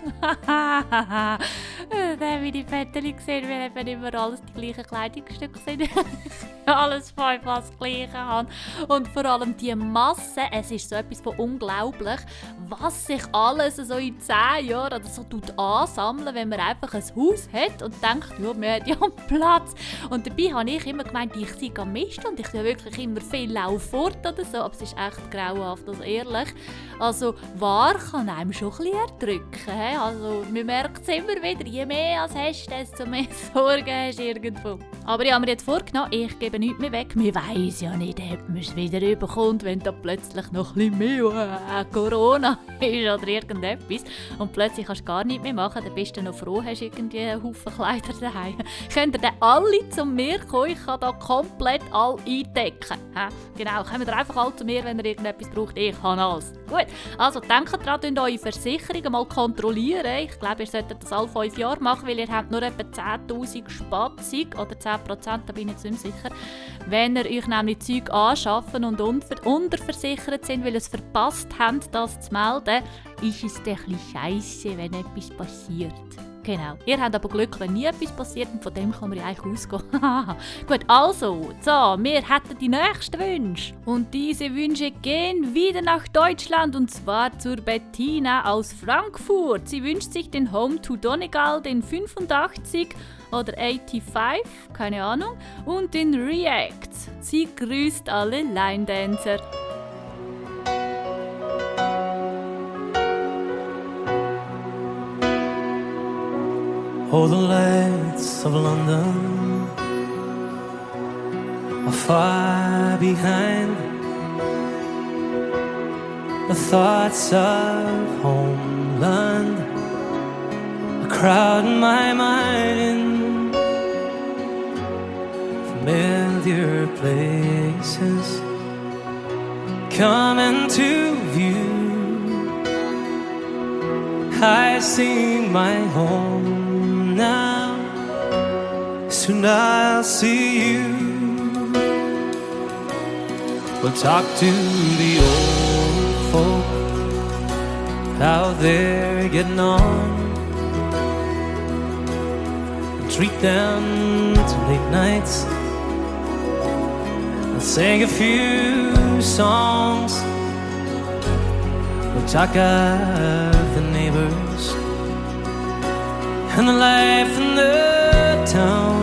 A: Dann habe ich die Fotos gesehen, weil eben immer alles die gleichen Kleidungsstücke sind. Alles fast das Gleiche haben. Und vor allem die Masse, es ist so etwas von unglaublich, was sich alles so in 10 Jahren oder so ansammeln, wenn man einfach ein Haus hat und denkt, ja, man hat ja Platz. Und dabei habe ich immer gemeint, ich sei am Mist und ich bin wirklich immer viel laufe fort oder so, aber es ist echt grauenhaft, also ehrlich. Also wahr kann einem schon ein bisschen erdrücken. He? Also man merkt es immer wieder, je mehr als hast, desto mehr Sorgen hast du irgendwo. Aber ich habe mir jetzt vorgenommen, ich gebe nichts mehr weg. Man weiss ja nicht, ob man es wieder überkommt, wenn da plötzlich noch ein bisschen mehr Corona ist oder irgendetwas. Und plötzlich kannst du gar nichts mehr machen. Dann bist du noch froh, hast irgendwie einen Haufen Kleider daheim. Könnt ihr dann alle zu mir kommen? Ich kann da komplett all eindecken. Genau, kommt ihr einfach alle zu mir, wenn ihr irgendetwas braucht. Ich kann alles. Gut, also denkt daran, eure Versicherungen mal kontrollieren. Ich glaube, ihr solltet das alle 5 Jahre machen, weil ihr habt nur etwa 10'000 Spatzung oder 10%, da bin ich jetzt nicht sicher. Wenn ihr euch nämlich Zeug anschaffen und unterversichert sind, weil ihr es verpasst habt, das zu melden, ist es ein bisschen scheisse, wenn etwas passiert. Genau. Ihr habt aber Glück, wenn nie etwas passiert und von dem kann man ja eigentlich ausgehen. Gut, also, so, wir hätten die nächsten Wünsche. Und diese Wünsche gehen wieder nach Deutschland und zwar zur Bettina aus Frankfurt. Sie wünscht sich den Home to Donegal, den 85 oder 85, keine Ahnung, und den React. Sie grüßt alle Line-Dancer.
J: Oh, the lights of London are far behind. The thoughts of homeland are crowding my mind. Familiar places come into view. I see my home now, soon I'll see you. We'll talk to the old folk, how they're getting on, and treat them to late nights, and sing a few songs. We'll talk of the neighbors and the life in the town.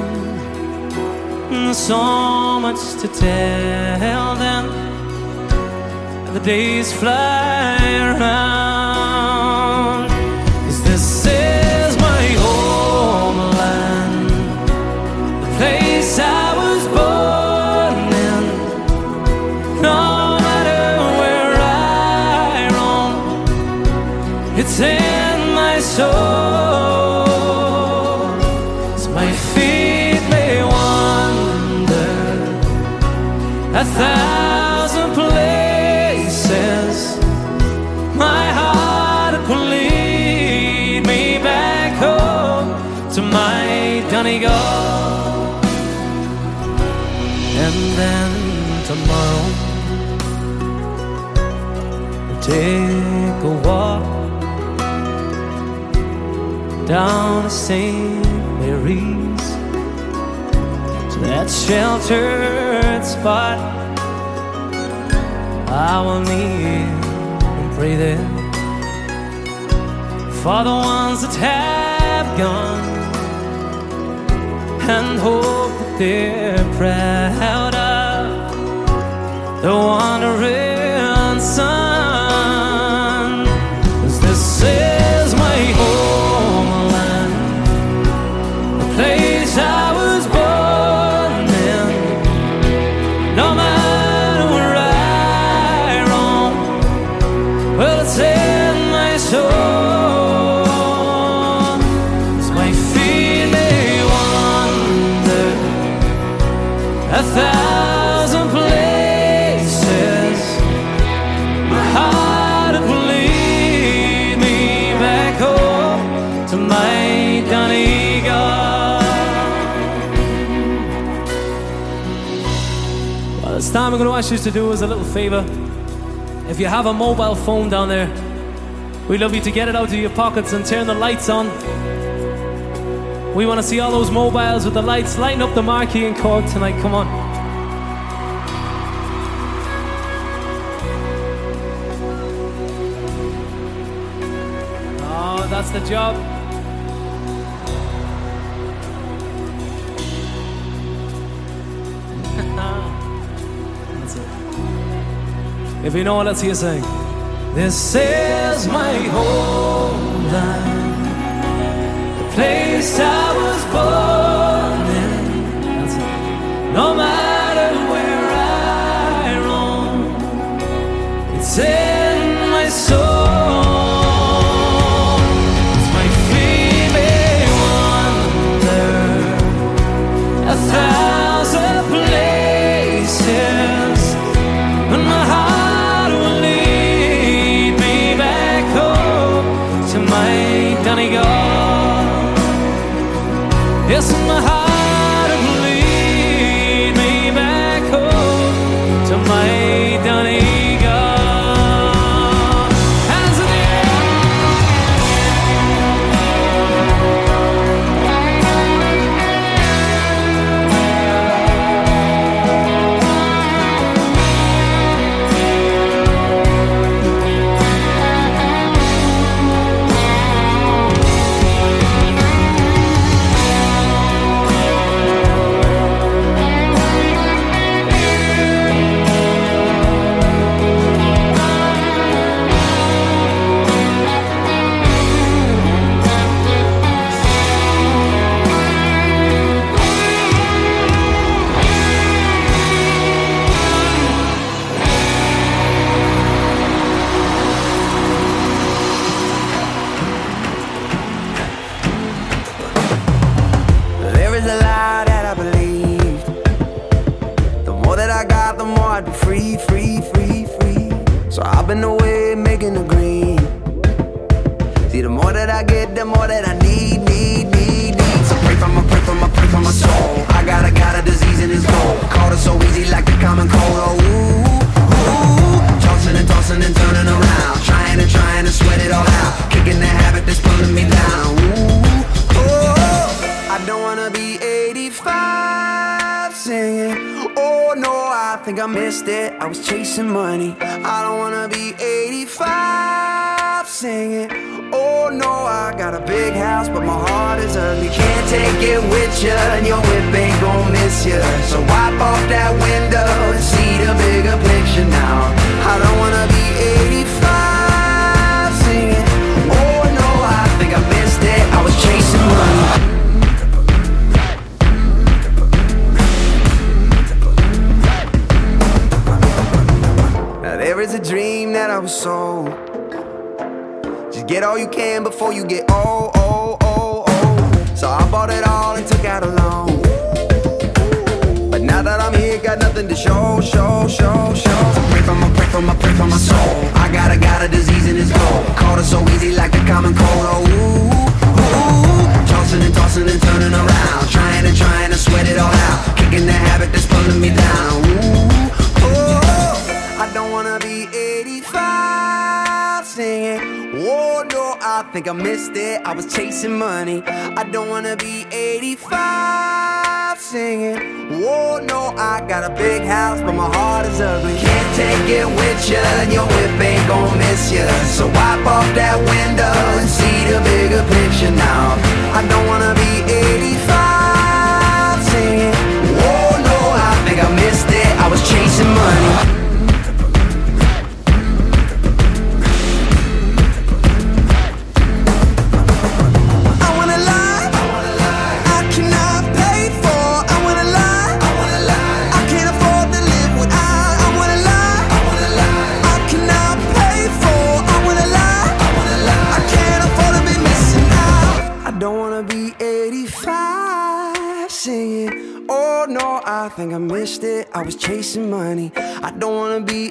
J: And there's so much to tell them, and the days fly around. 'Cause this is my homeland, the place I was born in. No matter where I roam, it's in my soul. A thousand places, my heart will lead me back home to my Donegal. And then tomorrow take a walk down to St. Mary's, to that sheltered spot. I will kneel and pray there for the ones that have gone, and hope that they're proud of the wandering son. 'Cause this is my homeland, the place I was born in. No matter where I roam, well, it's in my soul. 'Cause my feet may wander 1,000 places, my heart will lead me back home to my Donegal. Well, this time I'm going to ask you to do us a little favor. If you have a mobile phone down there, we'd love you to get it out of your pockets and turn the lights on. We want to see all those mobiles with the lights lighting up the marquee in Cork tonight. Come on. Oh, that's the job. That's it. If you know it, let's hear you sing. This is my homeland, place I was born in. That's it. No matter where I roam, it's in my soul. 'Cause my feet may wander 1,000 places, but my heart will lead me back home to my Donegal. Yes, my heart will lead me back home to my Donegal. Hands in the air.
B: There is a lie that I believed. The more that I got, the more I'd be free, free, free, free. So I've been away making a green. See, the more that I get, the more that I need, need, need, need. So pray for my, pray for my, pray for my soul. I got a disease in his goal. Caught it so easy like the common cold. Oh, ooh, ooh. Tossing and turning around. Trying to sweat it all out. Kicking the habit that's pulling me down. Ooh, oh. I don't wanna be 85 singing. Oh no, I think I missed it. I was chasing money. I don't wanna be 85 singing. Oh no, I got a big house, but my heart is ugly. Can't take it with ya, and your whip ain't gon' miss ya. So wipe off that window and see the bigger picture now. I don't wanna be 85 singing. Oh no, I think I missed it. I was chasing money. There is a dream that I was sold. Just get all you can before you get old, old, old, old. So I bought it all and took out a loan. But now that I'm here, got nothing to show, show, show, show. So pray for my, pray for my, pray for my soul. I got a disease in his goal. Caught it so easy like the common cold. Oh, ooh, ooh. Tossing and turning around. Trying to sweat it all out. Kicking the habit that's pulling me down. Ooh, oh. I don't wanna be 85 Oh no, I think I missed it. I was chasing money. I don't wanna be 85 singing. Oh no, I got a big house, but my heart is ugly. Can't take it with ya, and your whip ain't gon' miss ya. So wipe off that window and see the bigger picture now. I don't wanna be 85 singing. Oh no, I think I missed it. I was chasing money. I think I missed it, I was chasing money. I don't wanna be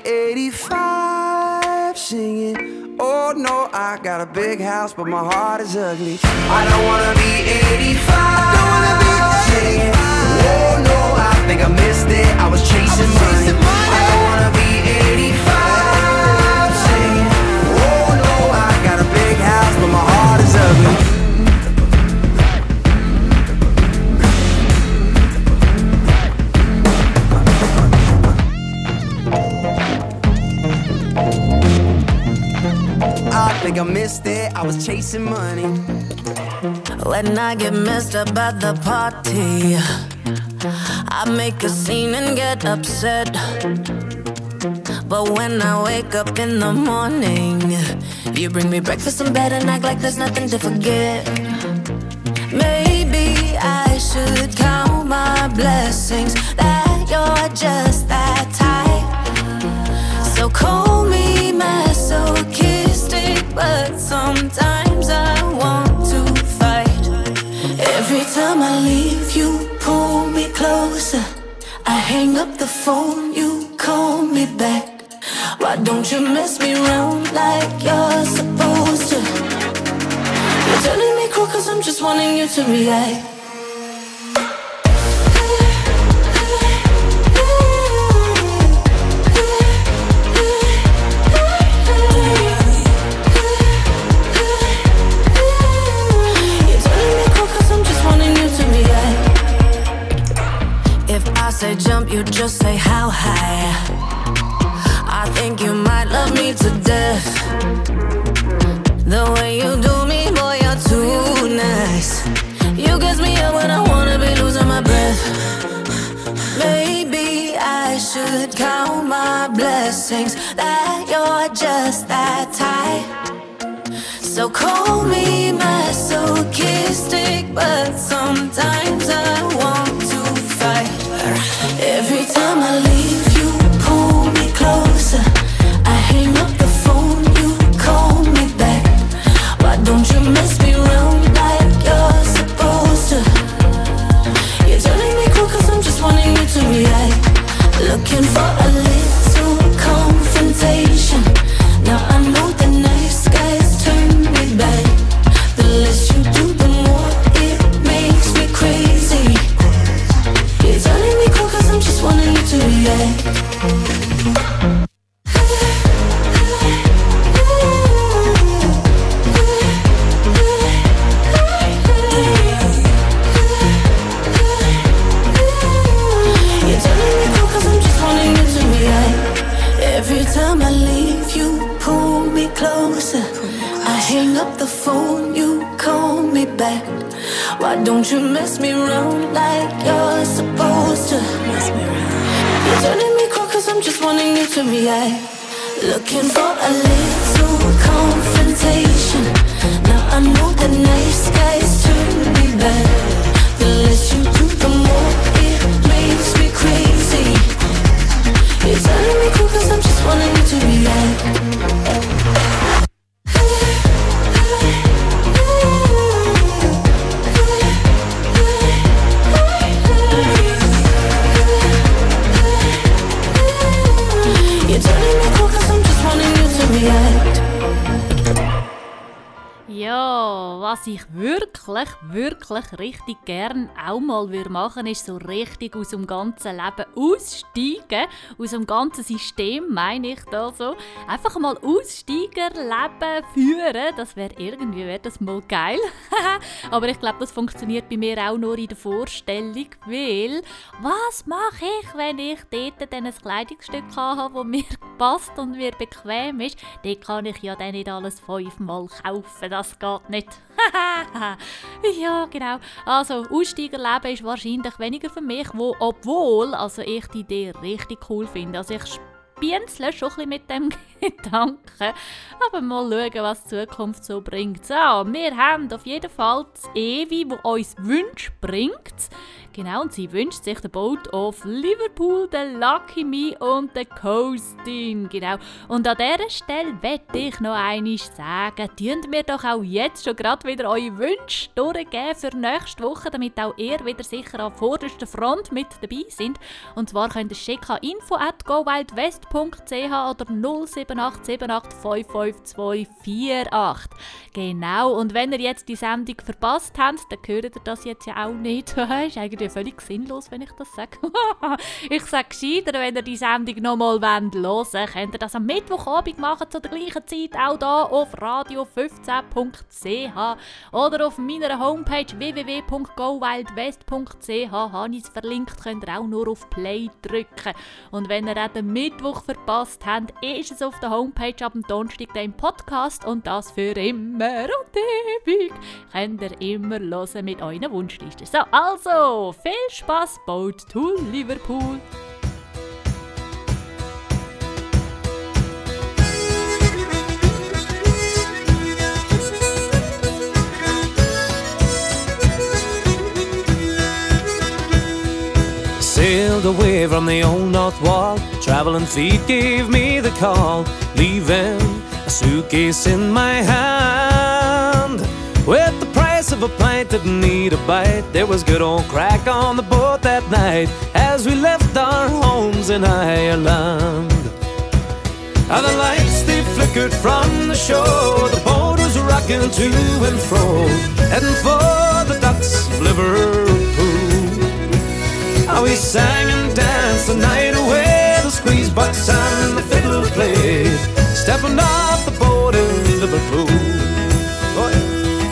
B: 85 singing. Oh no, I got a big house, but my heart is ugly. I don't wanna be 85 singing. Oh no, I think I missed it, I was chasing money. I don't wanna be 85 singing. Oh no, I got a big house, but my heart is ugly. I think I missed it, I was chasing money.
K: When I get messed up at the party, I make a scene and get upset. But when I wake up in the morning, you bring me breakfast in bed and act like there's nothing to forget. Maybe I should count my blessings that you're just that type. So call me masochistic, but sometimes I want to fight. Every time I leave, you pull me closer. I hang up the phone, you call me back. Why don't you mess me around like you're supposed to? You're turning me cool cause I'm just wanting you to react. Say jump, you just say how high. I think you might love me to death. The way you do me, boy, you're too nice. You get me up when I wanna be losing my breath. Maybe I should count my blessings that you're just that type. So call me masochistic, but sometimes I want to fight. Every time I leave, you pull me closer. I hang up the phone, you call me back. Why don't you mess me around like you're supposed to? You're turning me cool cause I'm just wanting you to react. Looking for a little confrontation. Now I know the nice guys turn me back. The less you do, the more it makes me crazy. You're turning me cool cause I'm just wanting you to react. You're turning me cool cause I'm just wanting you to react. Every time I leave, you pull me closer. I hang up the phone, you call me back. Why don't you mess me around like you're supposed to? You're turning me cool cause I'm just wanting you to react. Looking for a little confrontation. Now I know the nice guys turn me back. The less you do, the more it makes me crazy. You're turning me cool cause I'm just wanting you to react.
A: Ja, was ich wirklich richtig gern auch mal machen würde, ist so richtig aus dem ganzen Leben aussteigen. Aus dem ganzen System meine ich da so. Einfach mal Aussteigerleben führen, das wäre das mal geil. Aber ich glaube, das funktioniert bei mir auch nur in der Vorstellung, weil was mache ich, wenn ich dort dann ein Kleidungsstück habe, das mir passt und mir bequem ist? Dort kann ich ja dann nicht alles 5-mal kaufen, das geht nicht. Ja, genau. Also, Aussteigerleben ist wahrscheinlich weniger für mich, obwohl ich die Idee richtig cool finde. Also, ich spienzle schon ein bisschen mit dem Gedanken. Aber mal schauen, was die Zukunft so bringt. So, wir haben auf jeden Fall das Evi, das uns Wünsche bringt. Genau, und sie wünscht sich den Boat of Liverpool, den Lucky Me und den Coastin. Genau. Und an dieser Stelle möchte ich noch einmal sagen, tun mir doch auch jetzt schon gerade wieder eure Wünsche durchgeben für nächste Woche, damit auch ihr wieder sicher an vorderster Front mit dabei seid. Und zwar könnt ihr schicken an info@gowildwest.ch oder 07878552248. Genau, und wenn ihr jetzt die Sendung verpasst habt, dann hört ihr das jetzt ja auch nicht. Ist eigentlich völlig sinnlos, wenn ich das sage. Ich sage gescheiter, wenn ihr die Sendung nochmal hören wollt, könnt ihr das am Mittwochabend machen, zu der gleichen Zeit, auch hier auf radio15.ch oder auf meiner Homepage www.gowildwest.ch habe ich es verlinkt, könnt ihr auch nur auf Play drücken. Und wenn ihr auch den Mittwoch verpasst habt, ist es auf der Homepage ab dem Donnerstag im Podcast und das für immer und ewig. Könnt ihr immer hören mit euren Wunschlisten. So, also, viel Spaß, Boat to Liverpool!
L: Sailed away from the old north wall, traveling feet gave me the call, leaving a suitcase in my hand. With the price of a pint, didn't need a bite. There was good old crack on the boat that night as we left our homes in Ireland. And the lights, they flickered from the shore. The boat was rocking to and fro, heading for the docks of Liverpool. How we sang and danced the night away. The squeeze box and the fiddle played, stepping off the boat in Liverpool. Oh, yeah.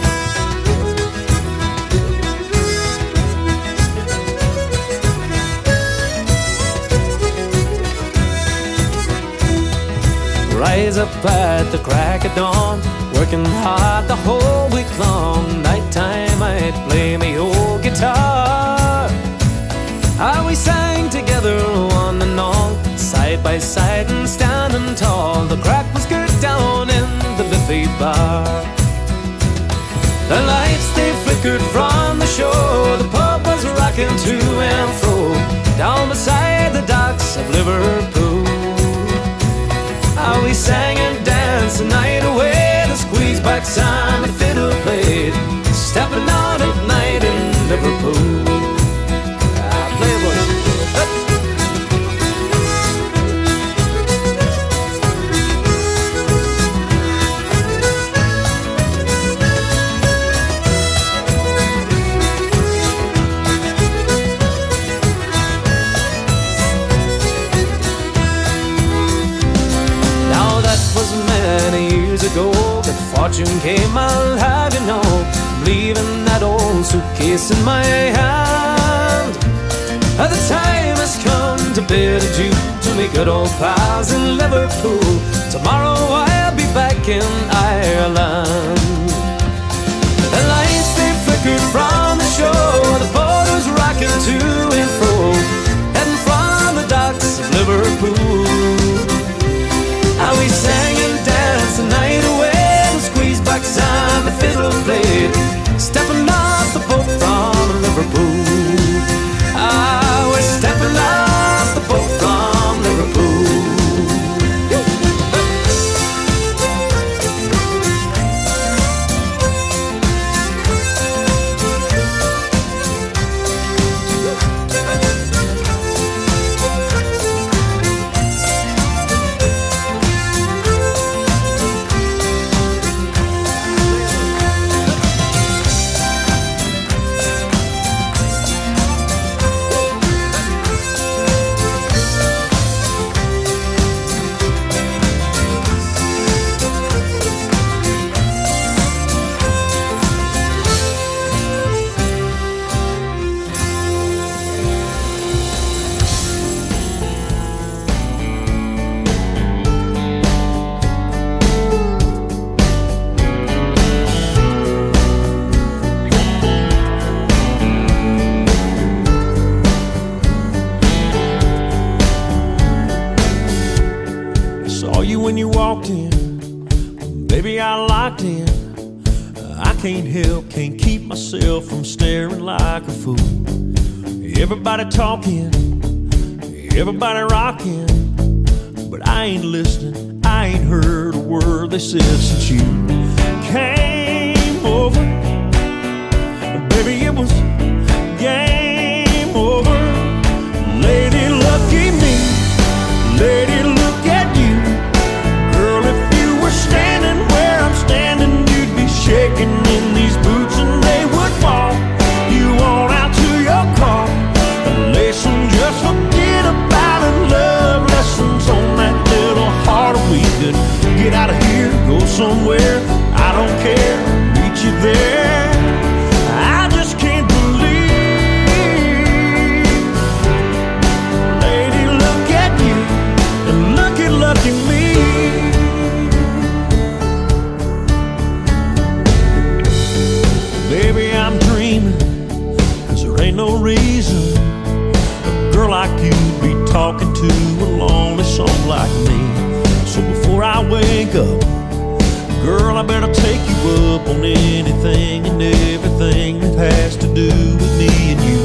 L: Rise up at the crack of dawn, working hard the whole week long. Nighttime I'd play my old guitar. How we sang together on and on, side by side and standing tall. The crack was good down in the Liffey bar. The lights, they flickered from the shore. The pub was rocking to and fro, down beside the docks of Liverpool. How we sang and danced the night away. The squeeze box and the fiddle played, stepping out at night in Liverpool. Ago, good fortune came, I'll have you know, leaving that old suitcase in my hand. The time has come to bid adieu to me good old pals in Liverpool. Tomorrow I'll be back in Ireland. The lights, they flickered from the shore. The boat was rocking to and fro, heading from the docks of Liverpool. How we sang and danced the night away. The squeeze box and the fiddle played, stepping off the boat from Liverpool. Ah, we're stepping off the boat from Liverpool.
M: got locked in. I can't help, can't keep myself from staring like a fool. Everybody talking, everybody rocking, but I ain't listening, I ain't heard a word they said since you came over. Baby, it was game over. Lady, lucky me, lady, look at you. Girl, if you were standing where I'm standing, you'd be shaking in these boots and they would fall. You on out to your car. Listen, just forget about it. Love lessons on that little heart. We could get out of here, go somewhere. I don't care, meet you there. I just can't believe. Lady, look at you and look at lucky me. Baby, I'm dreaming, 'cause there ain't no reason a girl like you'd be talking to a lonely soul like me. So before I wake up, girl, I better take you up on anything and everything that has to do with me and you.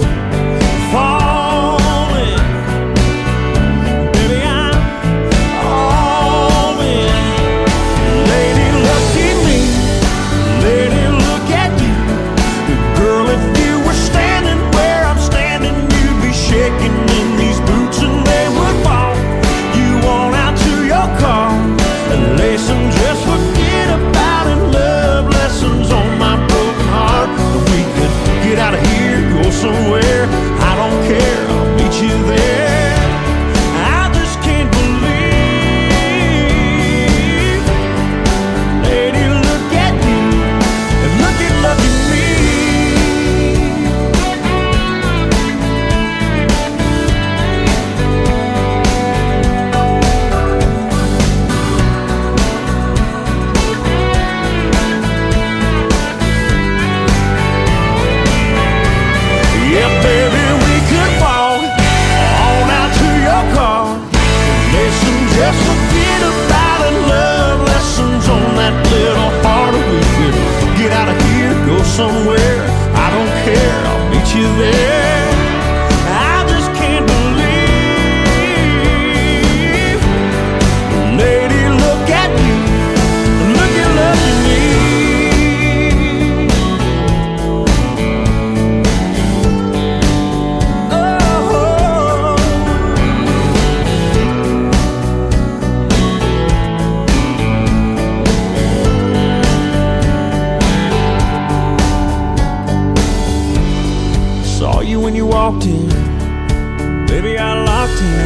M: Falling, baby, I'm all in. Lady, lucky me, lady, look at you. Girl, if you were standing where I'm standing, you'd be shaking in these boots and they would fall. You on out to your car and listen, just forget about it. Love lessons on my broken heart. If we could get out of here, go somewhere, I don't care, I'll meet you there. I just can't believe. Lady, look at you and look at me. Yeah, baby, we could walk on out to your car. Listen, just forget about it. Love lessons on that little heart. We could get out of here, go somewhere. I don't care, I'll meet you there. I just can't believe. Lady, look at you and look at me. Saw you when you walked in, baby, I locked in.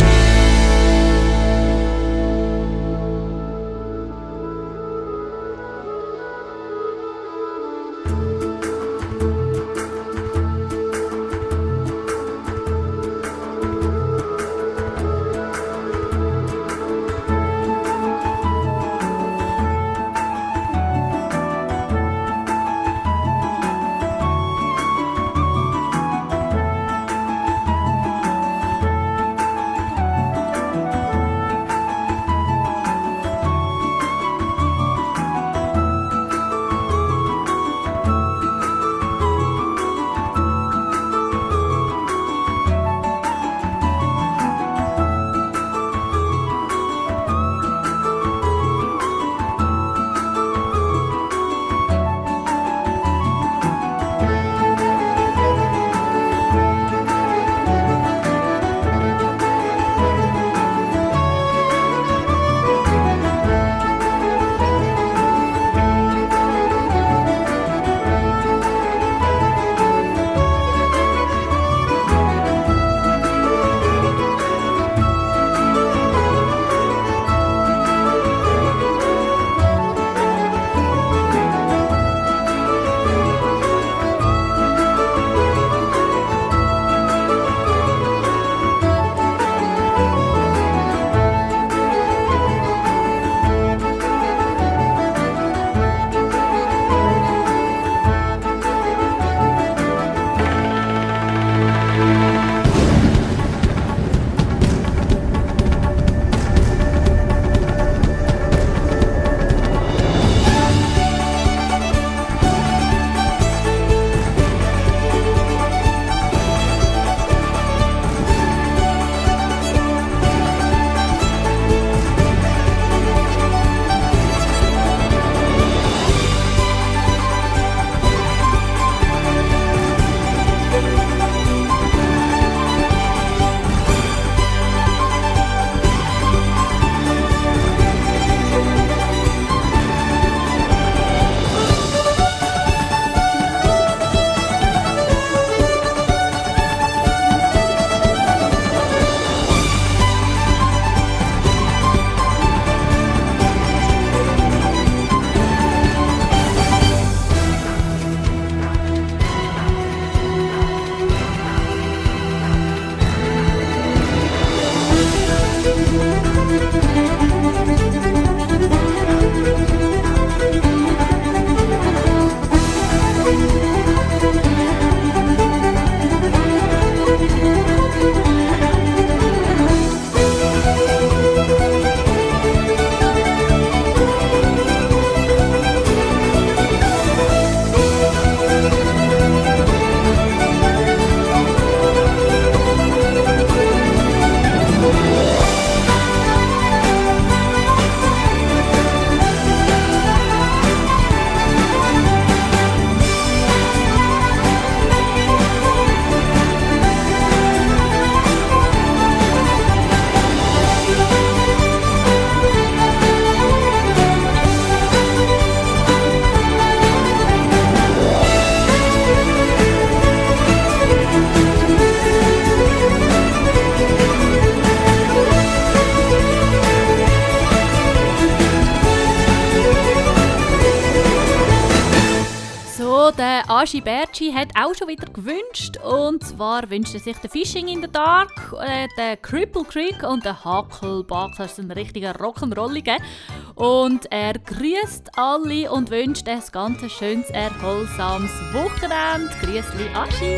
A: Ja, der Aschi Bertschi hat auch schon wieder gewünscht. Und zwar wünscht er sich den Fishing in the Dark, den Cripple Creek und den Hucklebuck. Das ist ein richtiger Rock'n'Rolliger. Und er grüßt alle und wünscht ein ganz schönes, erholsames Wochenende. Grüßli, Aschi.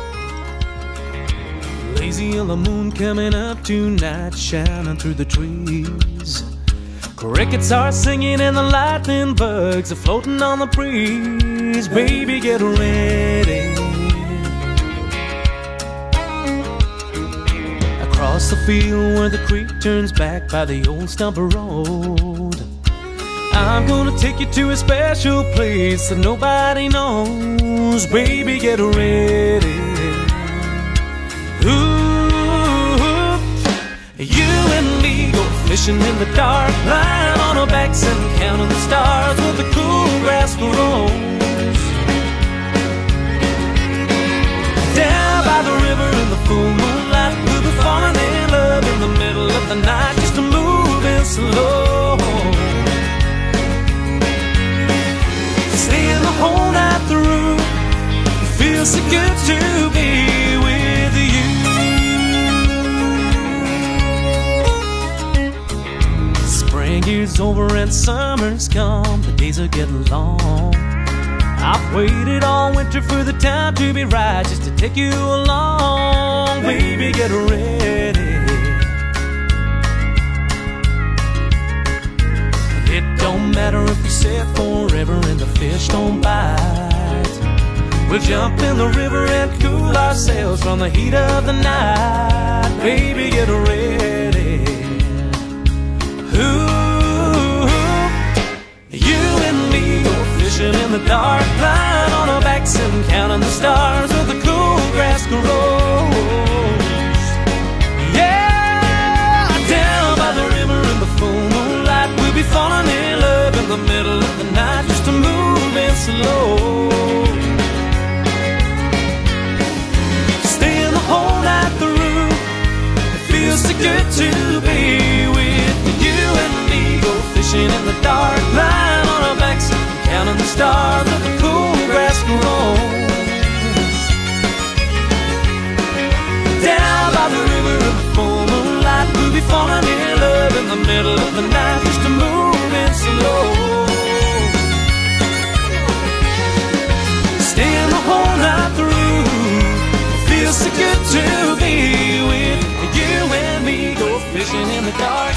L: Lazy yellow moon coming up tonight, shining through the trees. Crickets are singing and the lightning bugs are floating on the breeze. Baby, get ready. Across the field where the creek turns back by the old stumper road, I'm gonna take you to a special place that nobody knows. Baby, get ready. Ooh, you and me go fishing in the dark, lying on our backs and counting the stars where the cool grass grows. Down by the river in the full moonlight, we'll be falling in love in the middle of the night, just a moving slow. Staying the whole night through, it feels so good to be with you. Spring is over and summer's come, the days are getting long. I've waited all winter for the time to be right, just to take you along. Baby, get ready. It don't matter if you sit forever and the fish don't bite. We'll jump in the river and cool ourselves from the heat of the night. Baby, get ready. Ooh, you and me go fishing in the dark, lying on our backs and counting the stars where the cool grass grows. Yeah, down by the river in the full moonlight, we'll be falling in love in the middle of the night, just a moving slow. Staying the whole night through, it feels so good to be with you and me. Go fishing in the dark, lying on our backs, counting the stars where the cool grass grows. Down by the river in the full moonlight, we'll be falling in love in the middle of the night, just a moving slow. Staying the whole night through, it feels so good to be with you and me. Go fishing in the dark.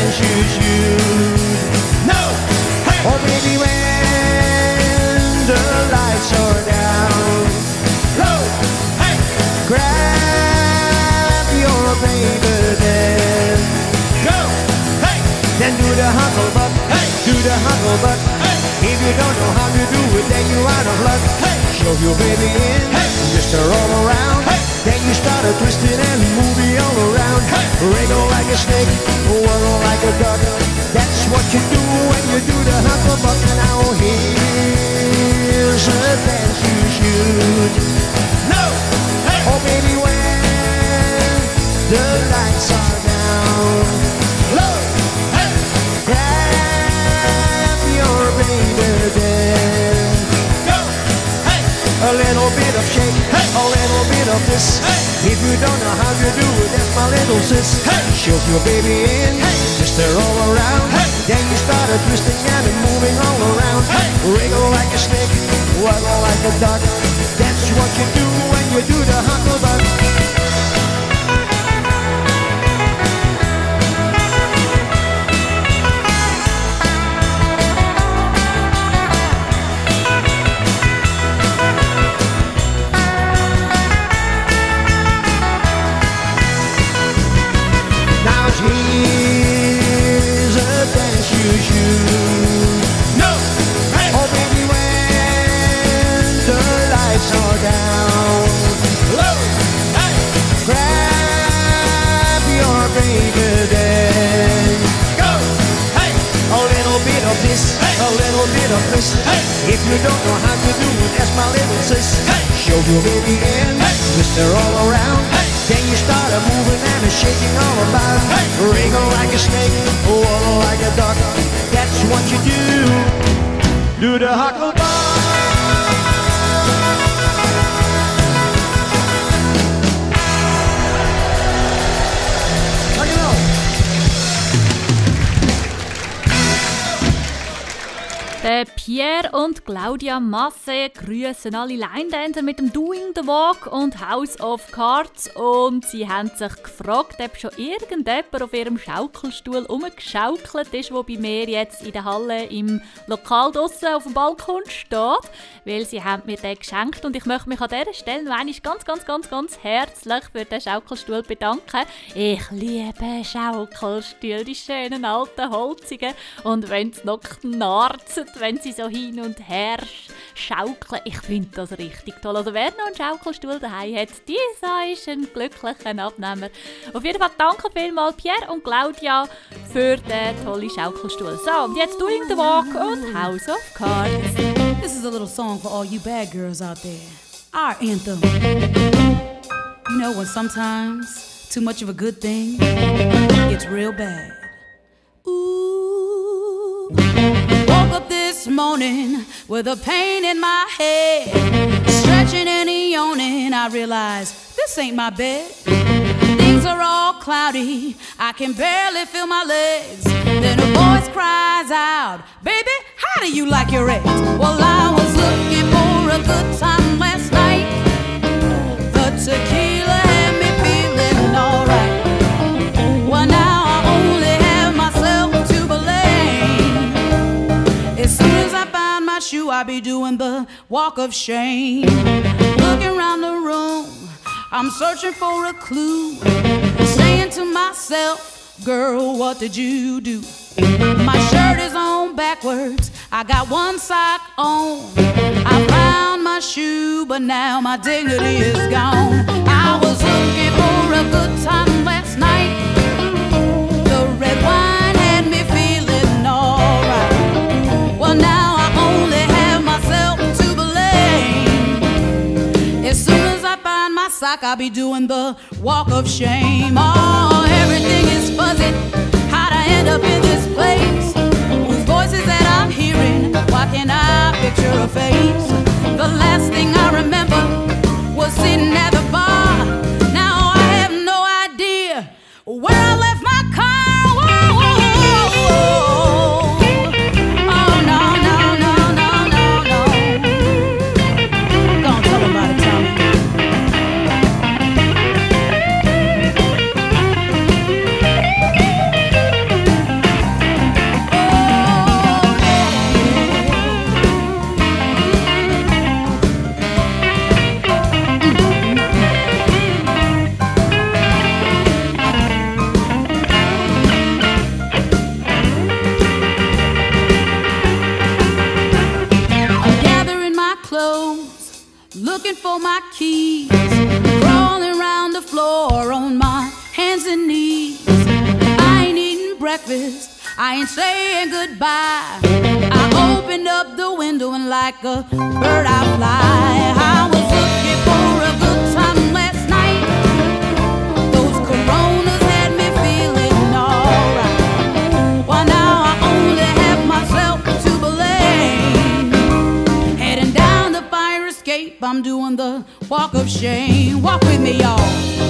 G: dance you should. No, hey. Oh baby, when the lights are down, low, hey. Grab your baby then go, hey. Then do the hucklebuck, hey. Do the hucklebuck, hey. If you don't know how to do it, then you're out of luck, hey. Shove your baby in, hey. Just a roll around, hey. Then you start a twisting and moving all around, hey. Wriggle like a snake, whirl like a duck. That's what you do when you do the hucklebuck. Now here's a dance you should. No, hey. Oh baby, when the lights are down, low, hey. Grab your baby then go, hey. A little bit of shake, hey. A little bit of this, hey. If you don't know how to do it, that's my little sis, hey. Shove your baby in, hey. Just a roll around, hey. Then you start a twisting and moving all around, hey. Wriggle like a snake, wiggle like a duck. That's what you do when you do the hucklebuck. Here's a dance you should. No, hey. Oh baby, when the lights are down, low, hey. Grab your baby then go, hey. A little bit of this, hey. A little bit of this, hey. If you don't know how to do it, that's my little sis, hey. Shove your baby in, hey. Twist her all around, hey. Then you start a moving and a shaking all about, hey. Wriggle like a snake, wiggle like a duck. That's what you do. Do the hucklebuck.
A: Der Pierre und Claudia Masse grüßen alle Line-Dancer mit dem Doing the Walk und House of Cards. Und sie haben sich gefragt, ob schon irgendjemand auf ihrem Schaukelstuhl rumgeschaukelt ist, der bei mir jetzt in der Halle im Lokal draussen auf dem Balkon steht. Weil sie haben mir den geschenkt und ich möchte mich an dieser Stelle noch einmal ganz herzlich für den Schaukelstuhl bedanken. Ich liebe Schaukelstühle, die schönen alten Holzigen. Und wenn es noch knarzt, wenn sie so hin und her schaukeln. Ich finde das richtig toll. Also wer noch einen Schaukelstuhl daheim hat, dieser ist ein glücklicher Abnehmer. Auf jeden Fall danke vielmals Pierre und Claudia für den tollen Schaukelstuhl. So, und jetzt Doing the Walk und House of Cards.
N: This is a little song for all you bad girls out there. Our anthem. You know when sometimes too much of a good thing gets real bad. Ooh. Woke up this morning with a pain in my head, stretching and yawning. I realized this ain't my bed. Things are all cloudy, I can barely feel my legs. Then a voice cries out, baby, how do you like your eggs? Well, I was looking for a good time last night. The tequila had me feeling alright. Well, now I only have myself to blame. As soon as I find my shoe, I'll be doing the walk of shame. Looking around the room, I'm searching for a clue, saying to myself, girl, what did you do? My shirt is on backwards, I got one sock on. I found my shoe, but now my dignity is gone. I was looking for a good time last night. The red wine had me feeling alright. Well, now I only have myself to blame. As soon as I find my sock, I'll be doing the walk of shame. Oh, everything is fuzzy. How'd I end up in this place? Whose voices that I'm hearing? Why can't I picture a face? The last thing I remember was sitting at the bar. Now I have no idea where I left my car. Whoa, whoa, whoa, whoa. Oh, no, no, no, no, no, no. Don't tell about it, Tommy. breakfast, I ain't saying goodbye. I opened up the window and like a bird I fly. I was looking for a good time last night. Those coronas had me feeling alright. Well, now I only have myself to blame. Heading down the fire escape, I'm doing the walk of shame. Walk with me, y'all.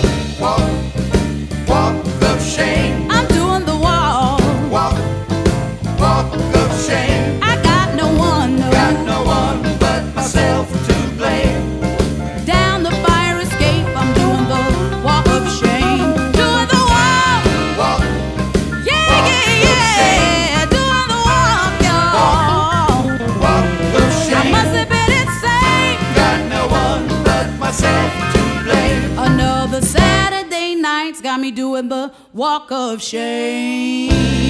B: Walk of shame.
N: I'm doing the walk.
B: Walk of shame.
N: I got no one,
B: but myself to blame.
N: Down the fire escape, I'm doing the walk of shame. Doing the walk. Yeah, yeah, yeah. Doing the walk, y'all.
B: Walk of shame.
N: I must have been insane.
B: Got no one but myself to blame.
N: Another Saturday night's got me doing the walk of shame.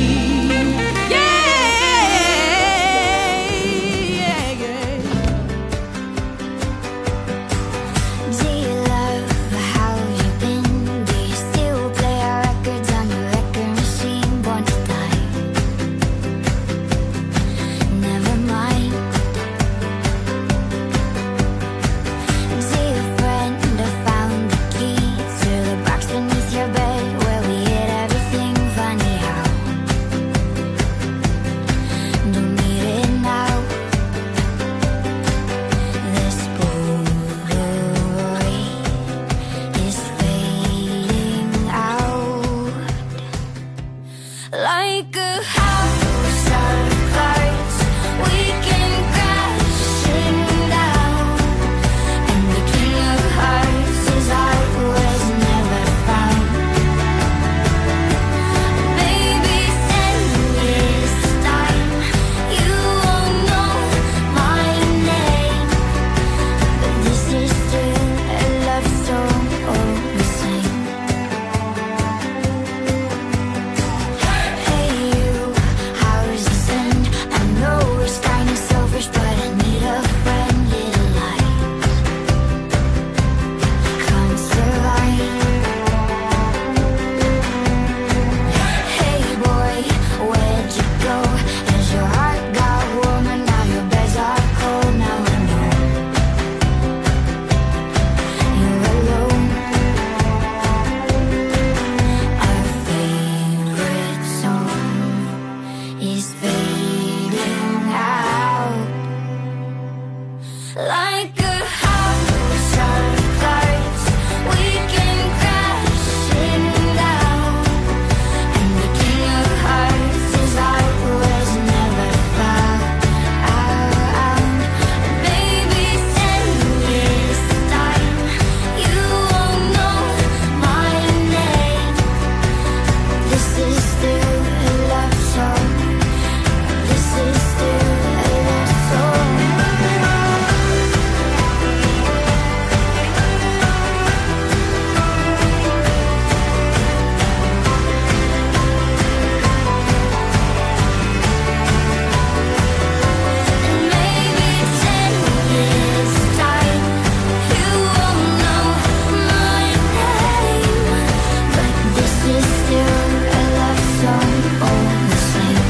D: Do you love how you've been? Do you still play our records on your record machine? Born to die. Never mind. Do your friend have found the key to the box beneath your bed where we hid everything? Funny how don't need it now. This Polaroid is fading out like a house of cards. We can crash it down, and the king of hearts is art was never found. Maybe 10 years time, you won't know my name, but this is still a love song all the same. Hey you, how's this end? I know it's kinda selfish, but I need a friend. Little lights can't survive. Hey boy, where'd you go? As your heart got warmer, now your beds are cold. Now I know you're alone. Our favorite song is fading out like a house of cards. We can crash it down, and the king of hearts is art was never found. Maybe 10 years time, you won't know my name. This is still a love song. This is still a love song. Maybe 10 years time, you won't know my name, but this is still a love song all the same.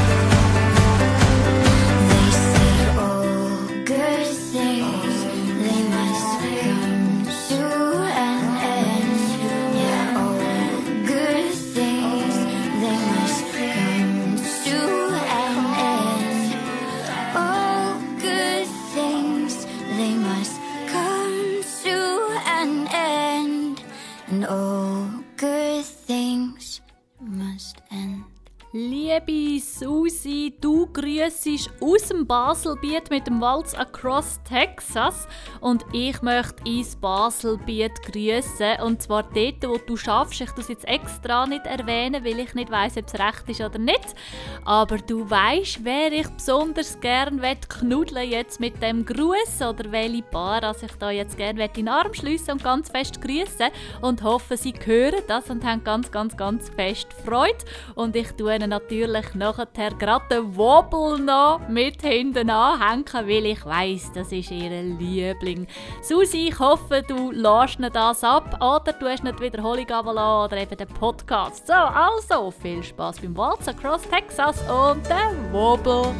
D: They say all good things, they must come to an end. Yeah, all good things, they must come to an end. All good things, they must come to an end. And all good things must end.
A: Liebe Susi, du grüssest aus dem Baselbiet mit dem Waltz Across Texas und ich möchte ins Baselbiet grüssen, und zwar dort, wo du schaffst. Ich tue es jetzt extra nicht erwähnen, weil ich nicht weiss, ob es recht ist oder nicht. Aber du weisst, wer ich besonders gerne knuddeln jetzt mit dem Gruß oder welche Paar also ich da jetzt gerne in den Arm schliessen und ganz fest grüssen und hoffe, sie hören das und haben ganz, ganz, ganz fest Freude. Und ich tue ihnen natürlich nachher gerade den Wobble noch mit hinten anhängen, weil ich weiss, das ist ihr Liebling. Susi, ich hoffe, du lässt nicht das ab oder du hast nicht die Wiederholung runtergelassen oder eben den Podcast. So, also, viel Spass beim Waltz Across Texas und den Wobble.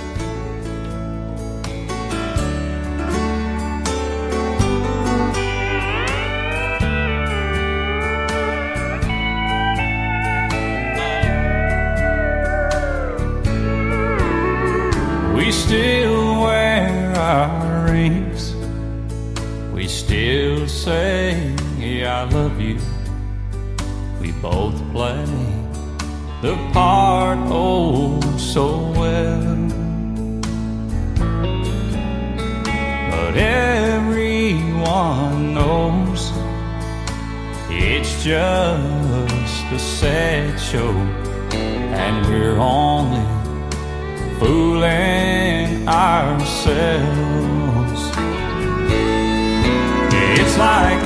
O: We still wear our rings. We still say, I love you. We both play the part oh so well. But everyone knows it's just a sad show, and we're only fooling ourselves. It's like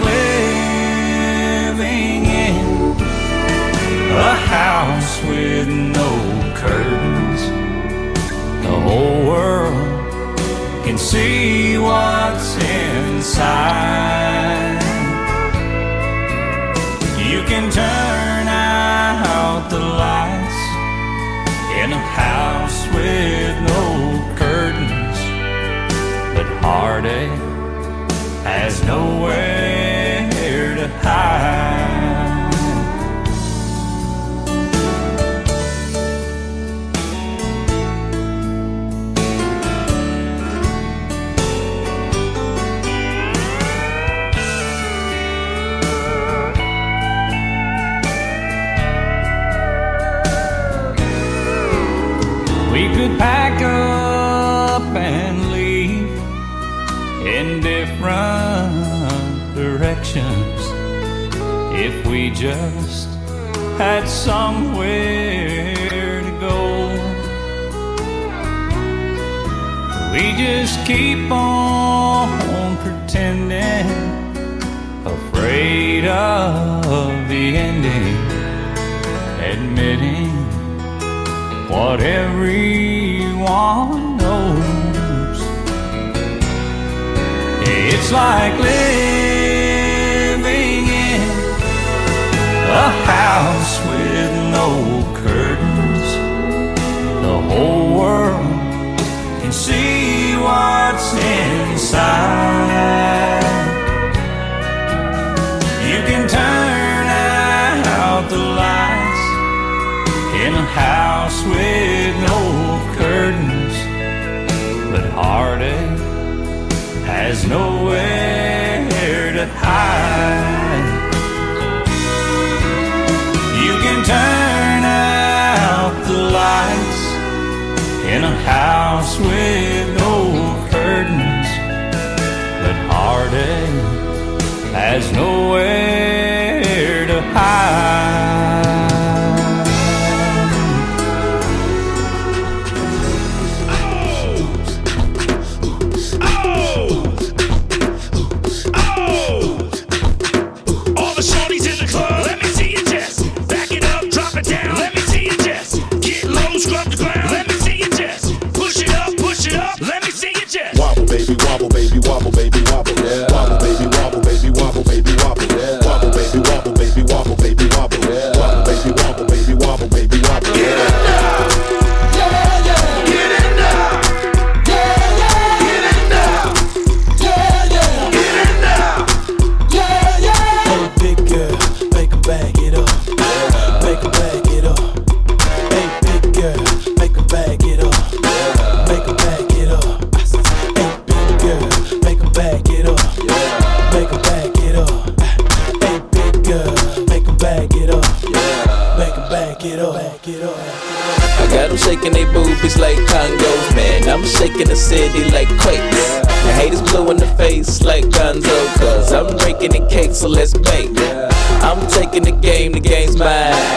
O: living in a house with no curtains. The whole world can see what's inside. You can turn out the lights in a house with no curtains, but heartache has nowhere to hide. We could pack up and leave in different directions if we just had somewhere to go. We just keep on pretending, afraid of the ending, admitting what everyone knows. It's like living in a house with no curtains. The whole world can see what's inside. You can turn out the lights in a house with no curtains, but heartache has nowhere to hide. You can turn out the lights in a house with no curtains, but heartache has nowhere to hide.
M: Scrub the ground. Let me see you just push it up, push it up. Let me see you just wobble, baby, wobble, baby, wobble, baby, wobble, yeah. Wobble, baby, wobble, baby, wobble, baby, wobble, yeah. Wobble, baby, wobble, baby, wobble, baby, wobble, yeah. Wobble, baby, wobble, baby, wobble, baby, wobble. Get it now, yeah, yeah. Get it now, yeah, yeah. Get it now, yeah, yeah. Get it now, yeah, yeah.
P: Hey, big girl, make 'em bag it up, make 'em bag it up. Make 'em bag it up, make 'em bag it up. Hey, big girl, make 'em bag it up, make 'em bag it up. Hey, big girl, make 'em bag it up, make 'em bag it up, bag it up.
Q: I got them shaking they boobies like Congos, man. I'm shaking the city like quakes. The haters blue in the face like Gonzo, cause I'm breaking the cake, so let's bake. I'm taking the game's mine.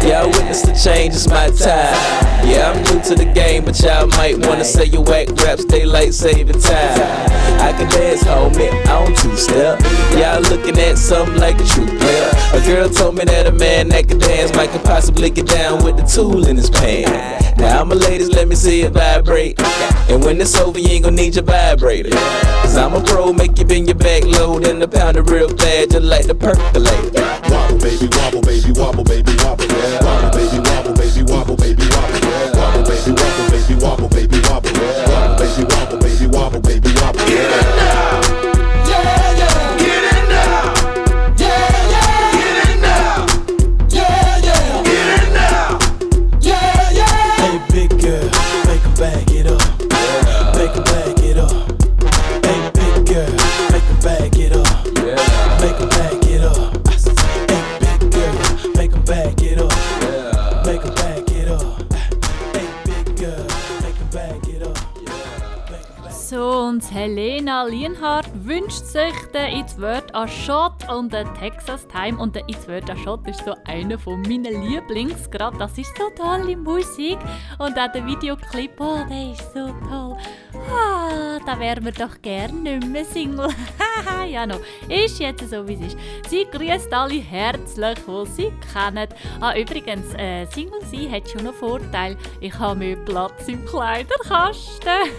Q: y'all witness the change, it's my time. Yeah, I'm new to the game, but y'all might wanna say your whack raps, daylight saving time. I can dance, homie, on two-step. Y'all looking at something like a true player. A girl told me that a man that can dance might could possibly get down with the tool in his pants. Now I'm a ladies, let me see it vibrate. And when it's over, you ain't gon' need your vibrator. Cause I'm a pro, make you bend your back low, then the pound it real bad, just like the percolate.
C: Wobble, baby, wobble, baby, wobble, baby, wobble. Wobble, baby, wobble, baby, wobble, baby, wobble. Wobble, baby, wobble, baby, wobble, baby, wobble. Wobble, baby, wobble, baby, wobble, baby, wobble. Get it now, yeah, yeah. Get it now, yeah, yeah. Get it now, yeah, yeah. Get it now, yeah, yeah.
P: Hey, big girl, make 'em bag it up. Make 'em bag it up. Hey, big girl, make 'em bag it up. Make 'em bag it up. Hey, big girl, make 'em bag it up. Make 'em bag it up. Hey, big girl, make 'em bag it up.
A: So, und Helena Lienhardt wünscht sich den It's Word a Shot und den Texas Time. Und der It's Word a Shot ist so einer von meinen Lieblings. Gerade das ist so tolle Musik. Und auch der Videoclip, oh, der ist so toll. Ah, da wären wir doch gern nicht mehr Single. Ja, no. Ist jetzt so, wie es ist. Sie grüßt alle herzlich, die sie kennen. Ah, übrigens, Single sein hat schon einen Vorteil. Ich habe mehr Platz im Kleiderkasten.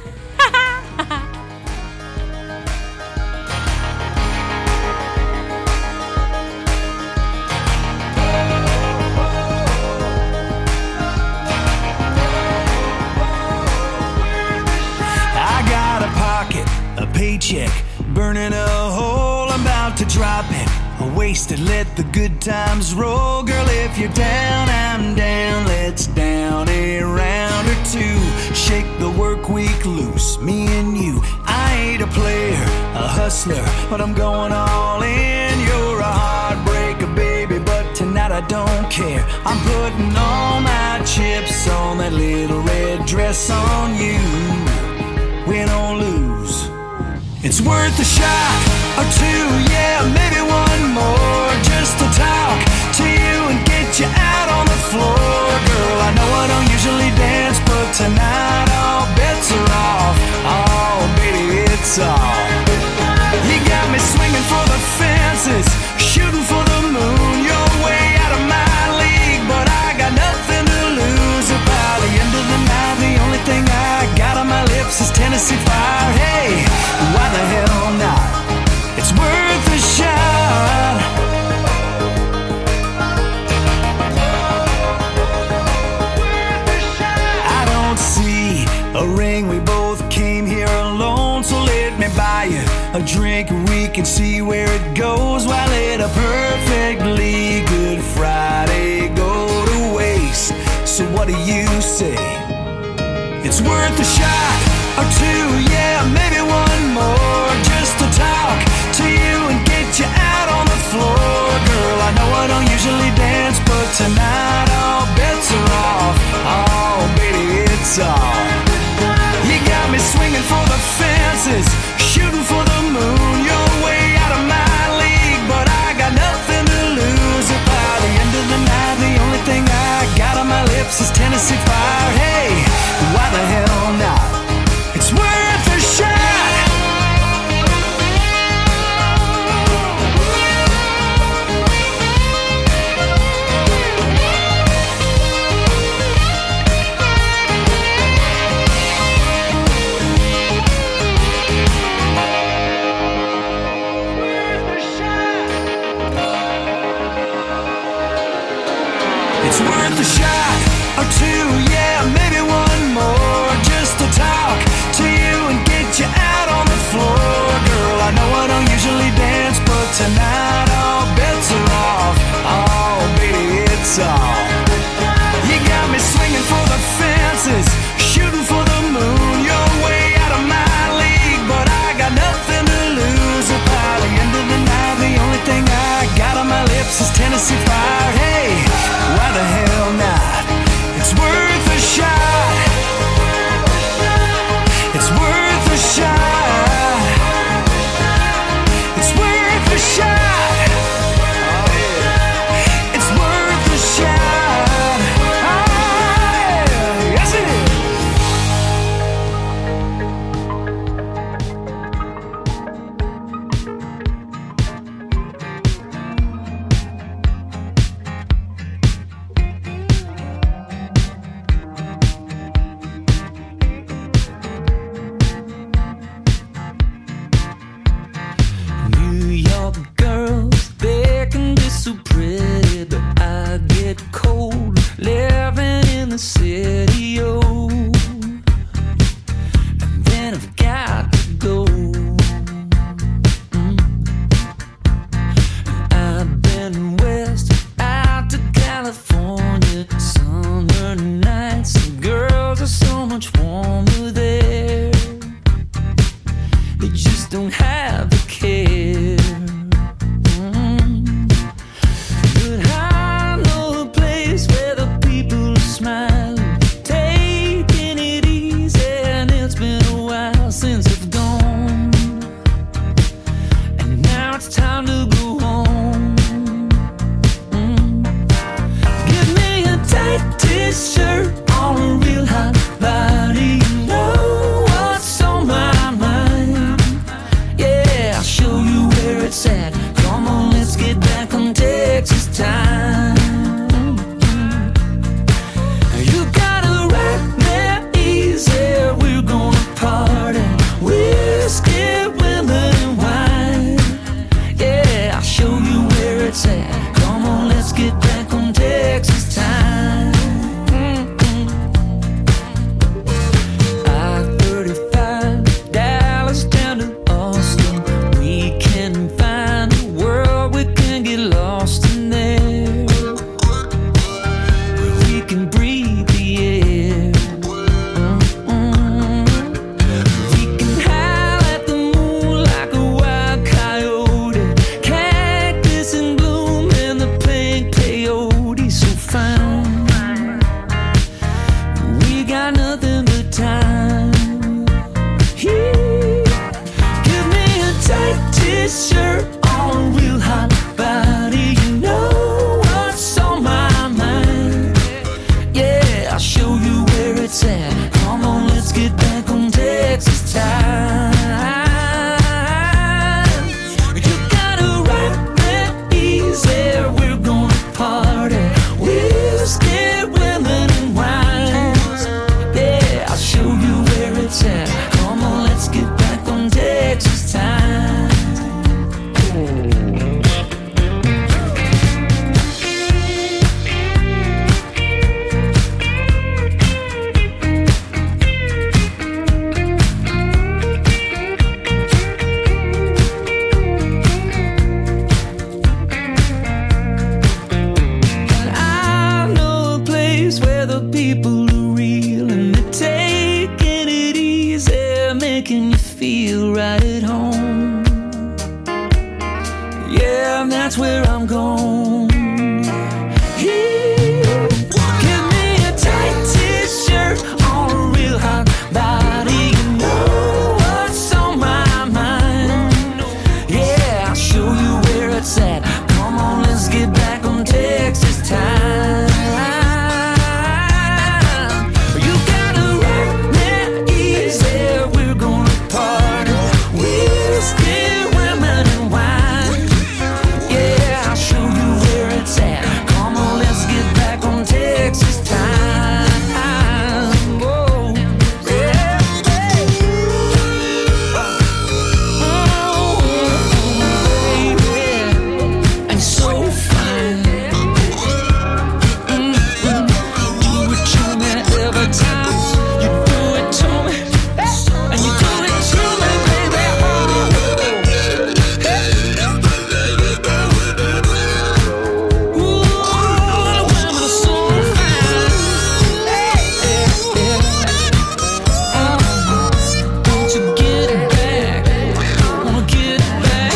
P: I got a pocket, a paycheck, burning a hole, I'm about to drop it. Wasted, let the good times roll. Girl, if you're down, I'm down. Let's down a round or two. Shake the work week loose, me and you. I ain't a player, a hustler, but I'm going all in. You're a heartbreaker, baby, but tonight I don't care. I'm putting all my chips on that little red dress on you. Win or lose, it's worth a shot or two, yeah, maybe one more. Just to talk to you and get you out on the floor. Girl, I know I don't usually dance, but tonight all bets are off. Oh, baby, it's all. You got me swinging for the fences, shooting for the moon. You're way out of my league, but I got nothing to lose. By the end of the night, the only thing I got on my lips is Tennessee Fire. Hey, why the hell not? It's worth a shot. I don't see a ring, we both came here alone, so let me buy you a drink and we can see where it goes. While let a perfectly good Friday go to waste. So what do you say? It's worth a shot or two, yeah, maybe one more. Just to talk to you and get you out on the floor. Girl, I know I don't usually dance, but tonight all bets are off. Oh, baby, it's all. You got me swinging for the fences, shooting for the moon. You're way out of my league, but I got nothing to lose. By the end of the night, the only thing I got on my lips is Tennessee Fire. Hey, why the hell not? It's worth a shot. It's worth a shot or two, yeah, maybe one more. Just to talk to you and get you out on the floor. Girl, I know I don't usually dance, but tonight all bets are off. Oh, baby, it's all. You got me swinging for the fences, shooting for the moon. You're way out of my league, but I got nothing to lose. By the end of the night, the only thing I got on my lips is Tennessee Fire. Hey, why the hell not? It's worth a shot. It's worth a shot. It's worth a shot. It's worth a shot.
F: old, living in the city, oh. And then I've got to go. I've been west out to California, summer nights, the girls are so much warmer there. They just don't have the care. But I know a place where the people are smiling, taking it easy, and it's been a while since I've gone. And now it's time to go home. Give me a tight t-shirt on a real hot body. You know what's on my mind. Yeah, I'll show you where it's at. Come on, let's get back on Texas time. You gotta ride there easy. We're gonna party, whiskey, women, and wine. Yeah, I'll show you where it's at. Come on, let's get back on Texas time. I-35, Dallas down to Austin. We can find a world we can get lost in there, where we can breathe the air. We can howl at the moon like a wild coyote, cactus in bloom and the pink peyote so fine. We got nothing but time. Give me a tight t-shirt on a real hot body. You know what's on my mind. Yeah, I'll show you where it's at. Come on, let's get back on Texas time. You gotta ride that easy. We're gonna party, whiskey, women, and wine. Yeah, I'll show you where it's at. Come on, let's get back on Texas time. I know a place where the people are real and they're taking it easy, making you feel right at home. Yeah, that's where I'm going. Give me a tight t-shirt on a real hot body. You know what's on my mind. Yeah, I'll show you where it's at. Come on, let's get back on Texas time. You gotta ride that easy. We're gonna party, whiskey, women, and wine. Yeah, I'll show you where it's at. Come on, let's get back on Texas time. Oh, yeah. Oh, baby, and so fine. Do it to me every time. You do it to me, and you do it to me, baby. Ooh, the women are so fine. Don't you get it back? Wanna get it back?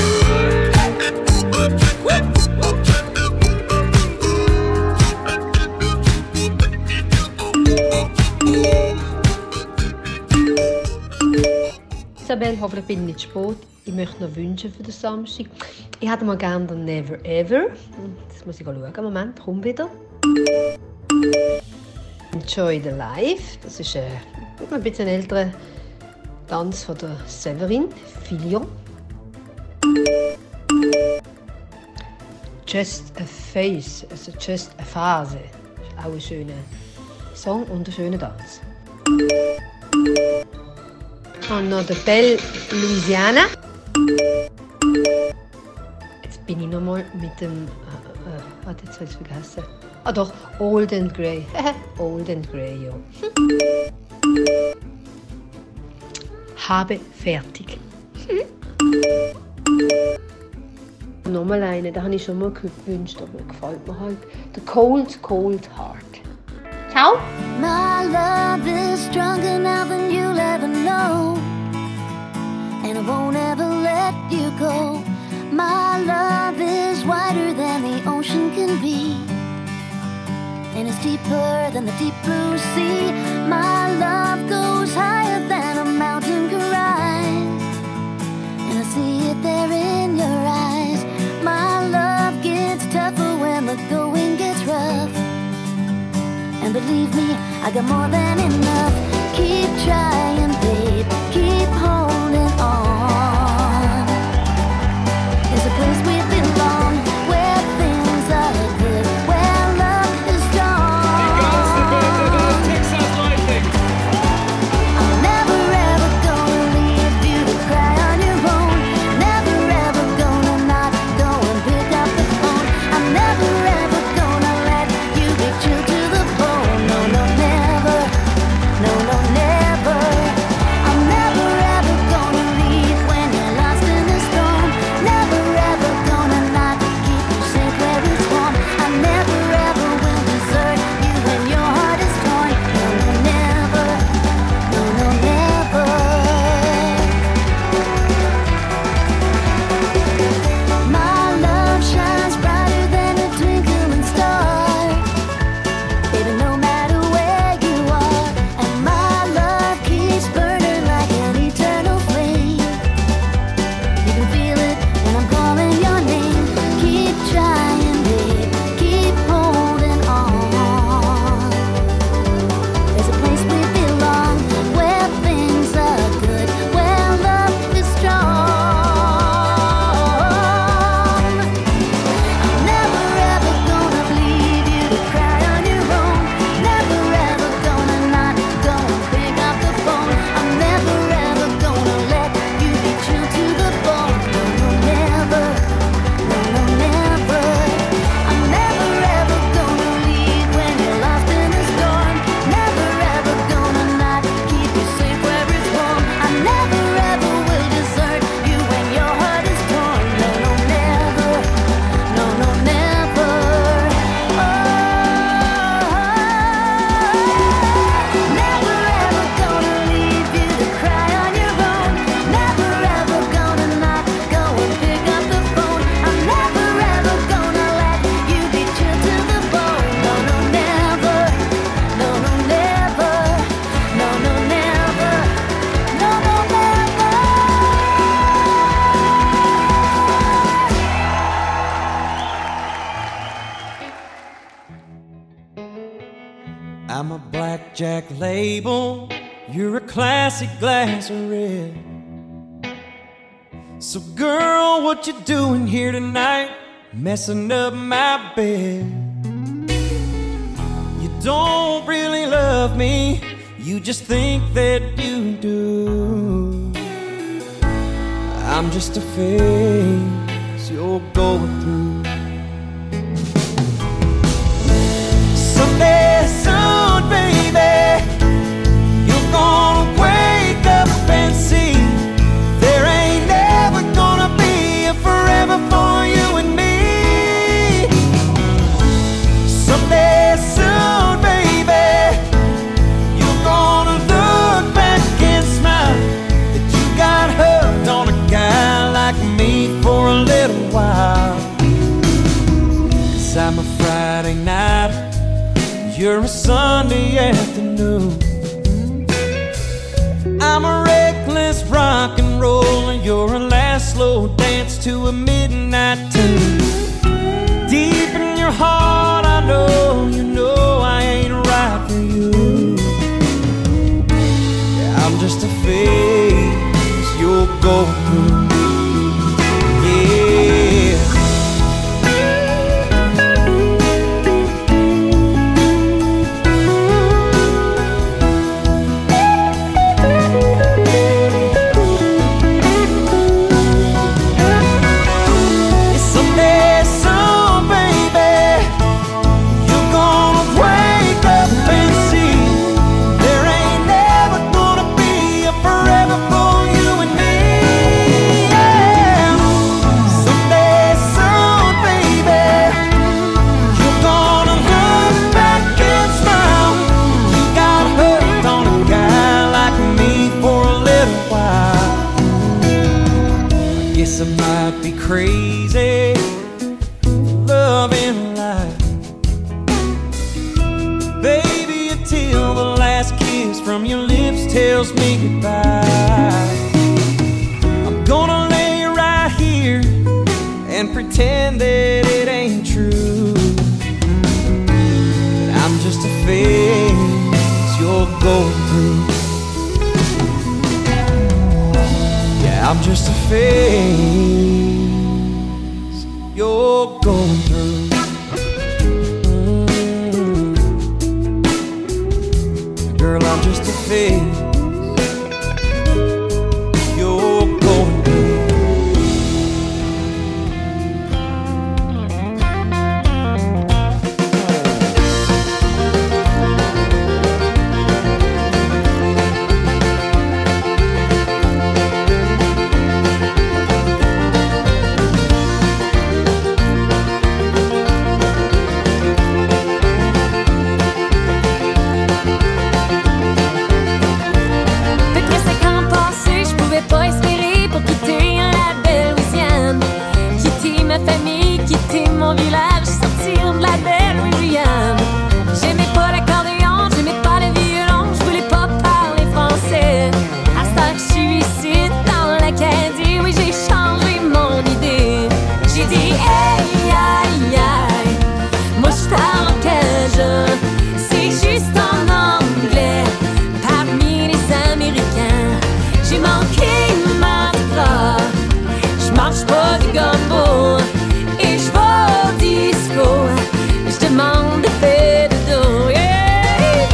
R: Isabel, hoffentlich bin ich nicht spät. Ich möchte noch wünschen für den Samstag. Ich hätte mal gerne den Never Ever. Das muss ich schauen. Moment, komm wieder. Enjoy the Life. Das ist ein bisschen älterer Tanz von der Severin Filion. Just a Face, also Just a Phase. Das ist auch ein schöner Song und ein schöner Tanz. Und noch der Belle Louisiana. Jetzt bin ich noch mal mit dem. Warte, jetzt habe ich es vergessen. Ah doch, Old and Grey. Old and Grey, ja. Habe fertig. Nochmal einen, den habe ich schon mal gewünscht, aber gefällt mir halt. The Cold, Cold Heart. Ciao!
D: My love is stronger now than you'll ever know, and I won't ever let you go. My love is wider than the ocean can be, and it's deeper than the deep blue sea. My love goes higher than a mountain can rise, and I see it there in your eyes. My love gets tougher when the going gets rough, and believe me, I got more than enough. Keep trying, babe, keep holding on. There's a place we belong, where things are good, where love is strong. I'm never ever gonna leave you to cry on your own. Never ever gonna not go and pick up the phone. I'm never ever gonna let you be chilled to the bone. No, no, never. No, no, never. I'm never ever gonna leave when you're lost in the storm. Never ever gonna not keep you safe where it's warm. I never ever will desert you when your heart is torn. No, no, never. No, no, never. My love shines brighter than a twinkling star, baby, no matter where you are. And my love keeps burning like an eternal flame. You can feel it when I'm calling your name. Keep trying, babe, keep holding on. There's a place we belong, where things are good, where love is strong. I'm never ever gonna leave you to cry on your own. Never ever gonna not go and pick up the phone. I'm never ever gonna let you be true to the bone. No, no, never. No, no, never. I'm never ever gonna leave when you're lost in a storm. Never ever gonna not keep you safe where it's warm. I never ever will desert you when your heart is torn. No, no, never. No, no, never. Never ever gonna leave you to cry on your own. Never ever gonna not go and pick up the phone. I'm never ever gonna let you be chilled to the bone. No, no, never. No, no, never. No, no, never. No, no, never.
L: I'm a blackjack label, you're a classic glass of red. So girl, what you doing here tonight, messing up my bed? You don't really love me, you just think that you do. I'm just a phase you're going through. Someday soon, baby, you're gonna wake up and see there ain't never gonna be a forever for you and me. Someday soon, baby, you're gonna look back and smile that you got hooked on a guy like me for a little while. 'Cause I'm a Friday night, you're a Sunday afternoon. I'm a reckless rock and roll, and you're a last slow dance to a midnight tune. Deep in your heart, I know you know I ain't right for you. Yeah, I'm just a phase you're going through. Yeah. Someday soon, baby, you're
O: crazy for love and life. Baby, until the last kiss from your lips tells me goodbye, I'm gonna lay right here and pretend that it ain't true, that I'm just a phase you're going through. Yeah, I'm just a phase you're going through. Girl, I'm just a phase you're going through.
E: Mon village, sortir de la belle Louisiane. J'aimais pas l'accordéon, j'aimais pas le violon, je voulais pas parler français. À cette heure, je suis ici dans l'Acadie, oui, j'ai changé mon idée. J'ai dit, hey, aïe, aïe, moi je parle en cajun, c'est juste en anglais. Parmi les Américains, j'ai manqué Mardi Gras, je marche pas du gumbo. Je demande de faire de dos, yeah.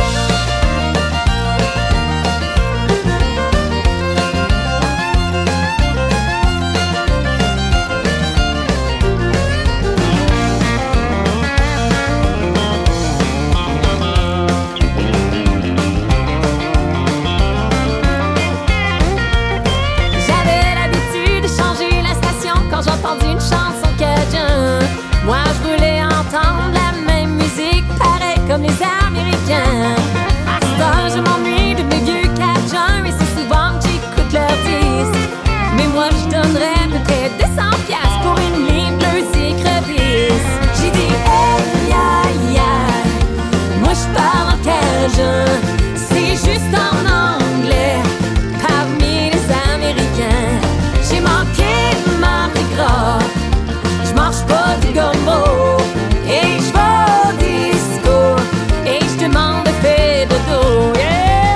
E: J'avais l'habitude de changer la station quand j'entendais une chanson cajun. Moi je voulais entendre la même musique, pareil comme les Américains. À cette heure je m'ennuie de mes vieux cajuns, et c'est souvent que j'écoute leurs disques. Mais moi je donnerais peut-être 200$ pour une ligne bleue écrevisse. J'ai dit hey aïe aïe, moi je parle en cajun, c'est juste en anglais. Parmi les Américains, j'ai manqué Mardi Gras, je marche pas du gumbo, et je vais au disco, et je demande de faire dodo, yeah.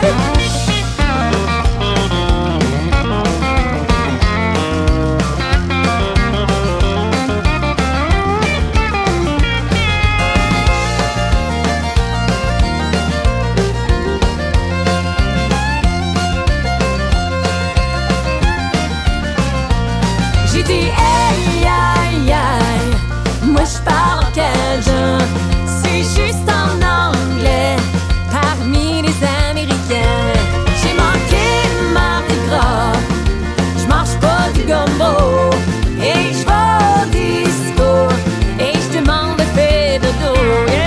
E: J'ai dit hey aïe aïe, moi je parle en cajun, c'est juste en anglais. Parmi les Américains, j'ai manqué Mardi Gras, je marche pas du gumbo, et je vais au disco, et je demande de faire dodo, yeah.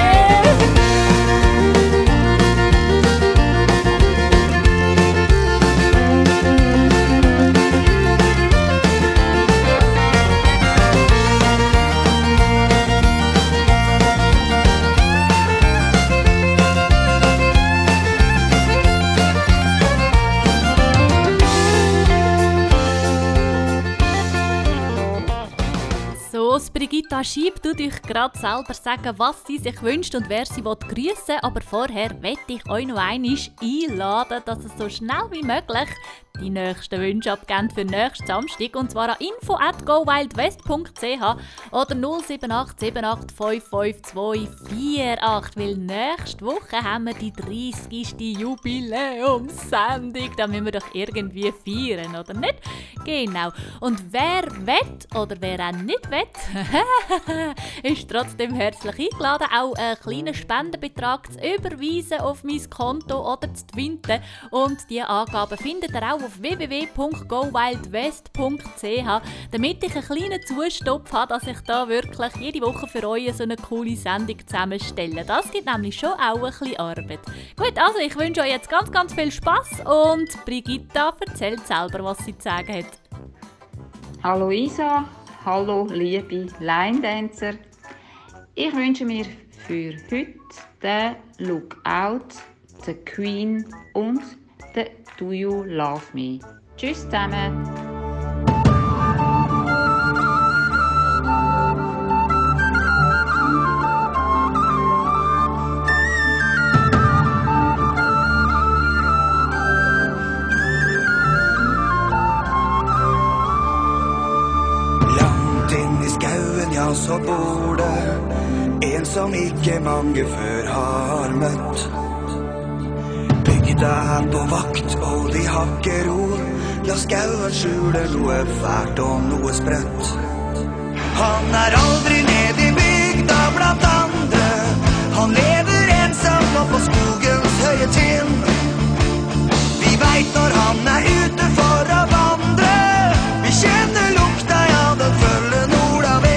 A: Brigitta Schieb tut euch gerade selber sagen, was sie sich wünscht und wer sie grüßen will. Aber vorher möchte ich euch noch einmal einladen, dass es so schnell wie möglich die nächsten Wünsche abgeben für nächsten Samstag. Und zwar an info@gowildwest.ch oder 078 78 552 48. Weil nächste Woche haben wir die 30. Jubiläumssendung. Da müssen wir doch irgendwie feiern, oder nicht? Genau. Und wer will oder wer auch nicht will, ist trotzdem herzlich eingeladen, auch einen kleinen Spendenbetrag zu überweisen auf mein Konto oder zu twinten. Und diese Angaben findet ihr auch auf www.gowildwest.ch, damit ich einen kleinen Zustopf habe, dass ich da wirklich jede Woche für euch so eine coole Sendung zusammenstelle. Das gibt nämlich schon auch ein bisschen Arbeit. Gut, also ich wünsche euch jetzt ganz, ganz viel Spass und Brigitta erzählt selber, was sie zu sagen hat.
S: Hallo Isa, Hallo, liebe Line-Dancer. Ich wünsche mir für heute den Lookout, den Queen und den Do You Love Me. Tschüss zusammen.
T: Ja, så bor det en som ikke mange før har møtt. Bygda er på vakt, og de har ikke ro. La skauen skjule noe fælt og noe sprøtt. Han er aldri nede i bygda blant andre. Han lever ensom opp på skogens høye tinn. Vi vet når han er ute for å vandre. Vi kjenner lukta, ja, den følger nordavind.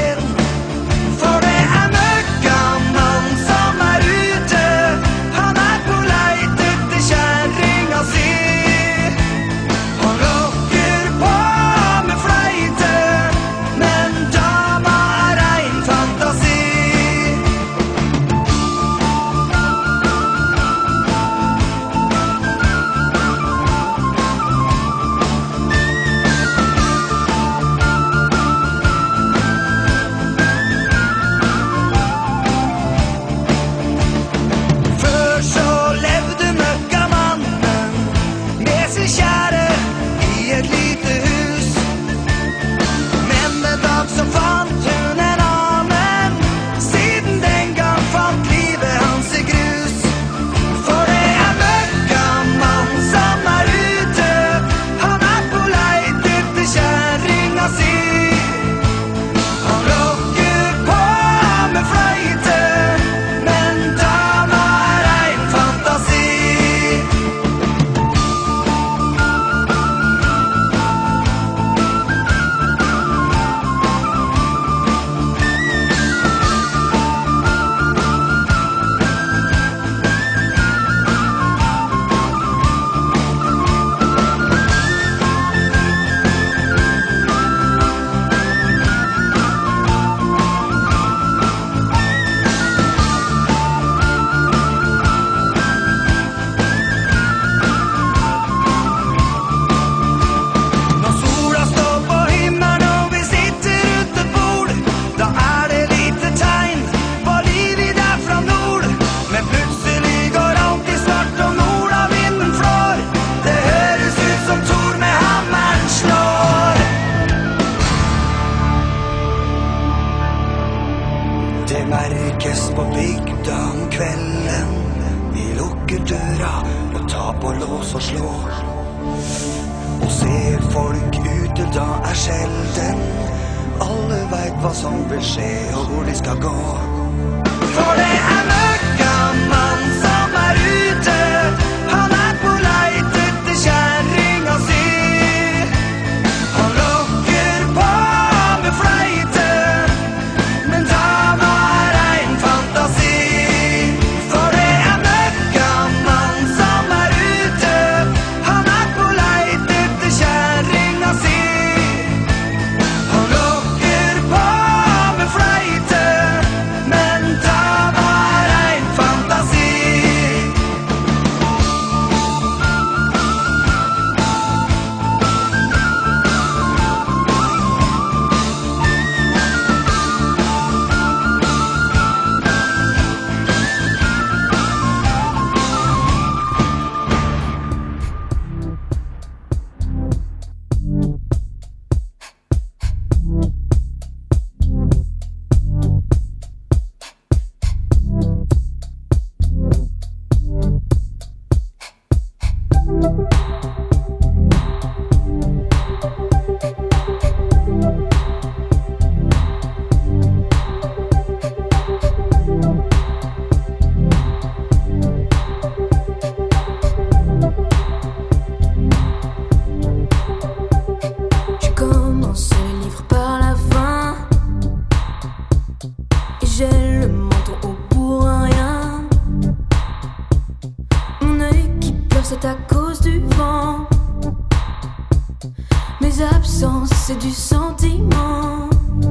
H: c'est à cause du vent. Mes absences, c'est du sentiment.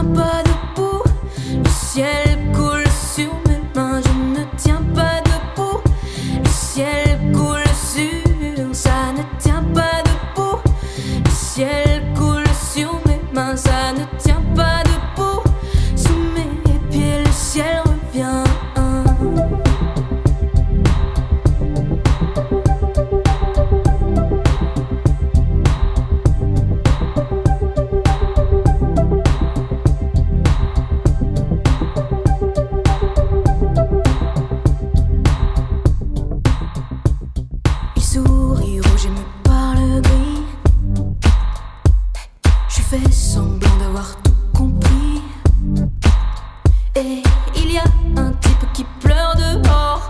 E: tiens pas debout. Le ciel coule sur mes mains, je ne tiens pas debout. Le ciel coule sur, ça ne tient pas debout. Le ciel coule sur mes mains, ça ne tient pas debout. Sous mes pieds, le ciel revient. Il sourit rouge et me parle gris. Je fais semblant d'avoir tout compris. Et il y a un type qui pleure dehors.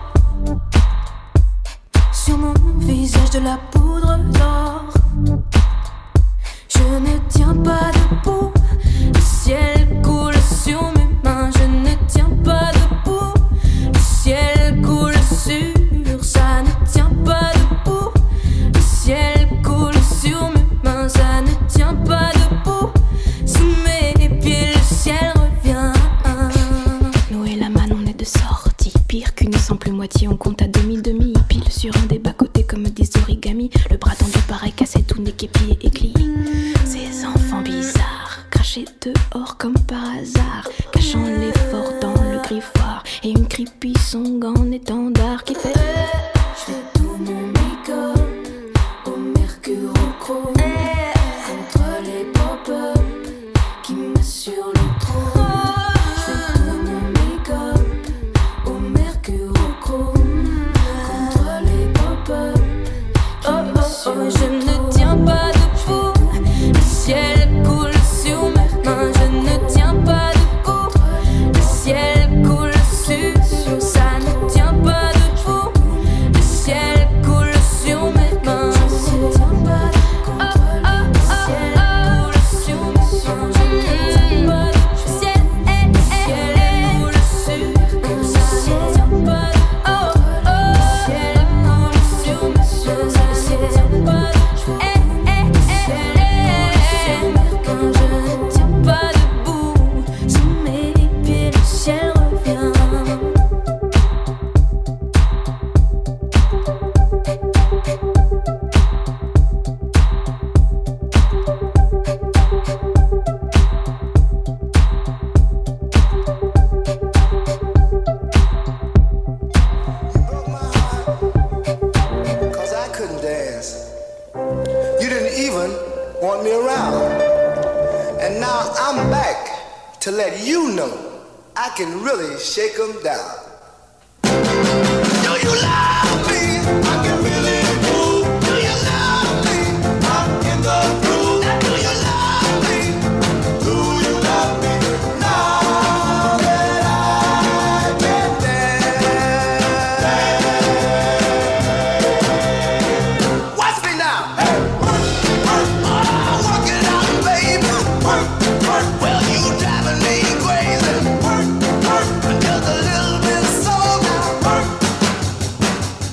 E: Sur mon visage de la poudre d'or. Je ne tiens pas debout. Le ciel coule sur mes mains. Je ne tiens pas debout. Le ciel coule sur, ça ne tient pas debout. Le ciel coule sur mes mains, ça ne tient pas debout. Sous mes pieds, le ciel revient.
U: Nous et la man, on est de sortie. Pire qu'une simple moitié, on compte à demi-demi. Pile sur un des bas-côtés comme des origamis. Le bras tendu pareil, cassé, tout nez, pieds et clis. Ces enfants bizarres, crachés dehors comme par hasard. Cachant l'effort dans le griffoir. Et une creepy song en étendard qui fait.
E: Je fais tout mon make-up au mercure au chrome. Contre les pop-up qui m'assurent le trône. Je fais tout mon make-up au mercure au chrome. Contre les pop-up qui m'assurent le trône. Je ne tiens pas debout. Le ciel coule sur mes mains. Je ne tiens pas debout. Le ciel coule sur, ça ne tient pas debout. Le ciel coule sur mes mains. Je ne tiens pas debout. Le ciel coule sur mes mains. Je ne tiens pas debout. Le ciel coule sur mes mains. Ça ne tient pas debout. Le ciel coule sur mes mains. Ça ne tient pas debout. Je ne tiens pas debout. Sous mes pieds, le ciel revient.
V: Cause I couldn't dance. You didn't even want me around. And now I'm back to let you know I can really shake 'em down. Do you love me? I can really move. Do you love me? I'm in the groove. Now do you love me? Do you love me? Now that I can dance. Watch me now. Hey, work, work, oh, work it out, baby. Work, work, well you driving me crazy. Work, work, just a little bit slow now. Work.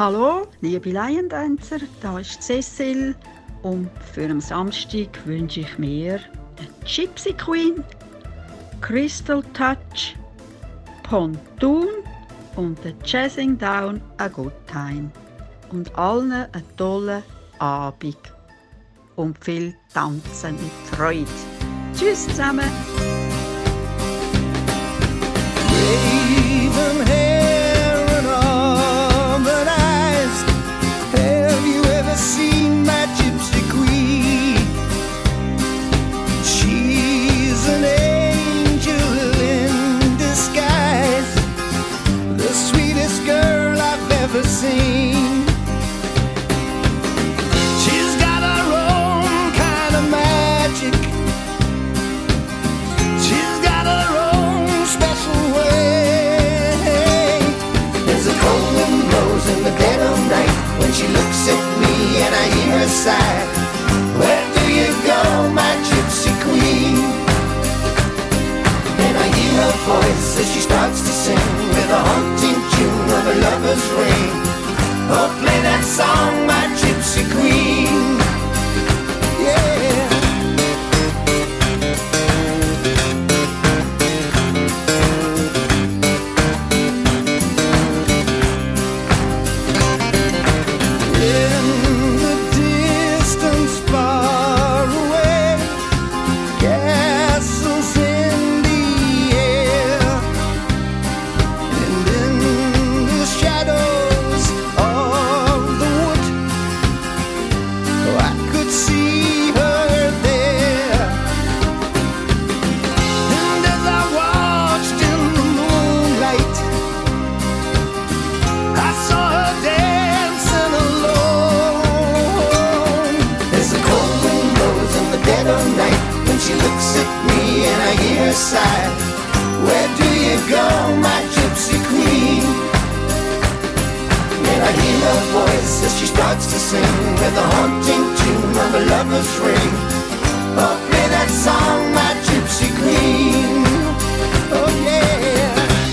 I: Hallo, liebe Laiendancer, da ist Cecil und für am Samstag wünsche ich mir den Gypsy Queen, Crystal Touch, Pontoon und den Jazzing Down a Good Time. Und allen einen tollen Abend und viel Tanzen mit Freude. Tschüss zusammen!
B: Raven hair and almond eyes. Have you ever seen my gypsy queen? She's an angel in disguise, the sweetest girl I've ever seen. She's got her own kind of magic. She's got her own special way. There's a cold wind blows in the dead of night when she looks at me and I hear her sigh. Where do you go, my gypsy queen? And I hear her voice as she starts to sing with a haunting tune of a lover's ring. Oh, play that song, my gypsy queen. Yeah. In the distance far away, castles in the air, and in the shadows of the wood, I could see her there. And as I watched in the moonlight, I saw her dancing alone. There's a cold wind blows in the dead of night when she looks at me and I hear her sigh. Where do you go, my gypsy queen? And I hear her voice as she starts to sing with a haunting tune of a lover's ring. Oh, play that song, my gypsy queen. Oh, yeah.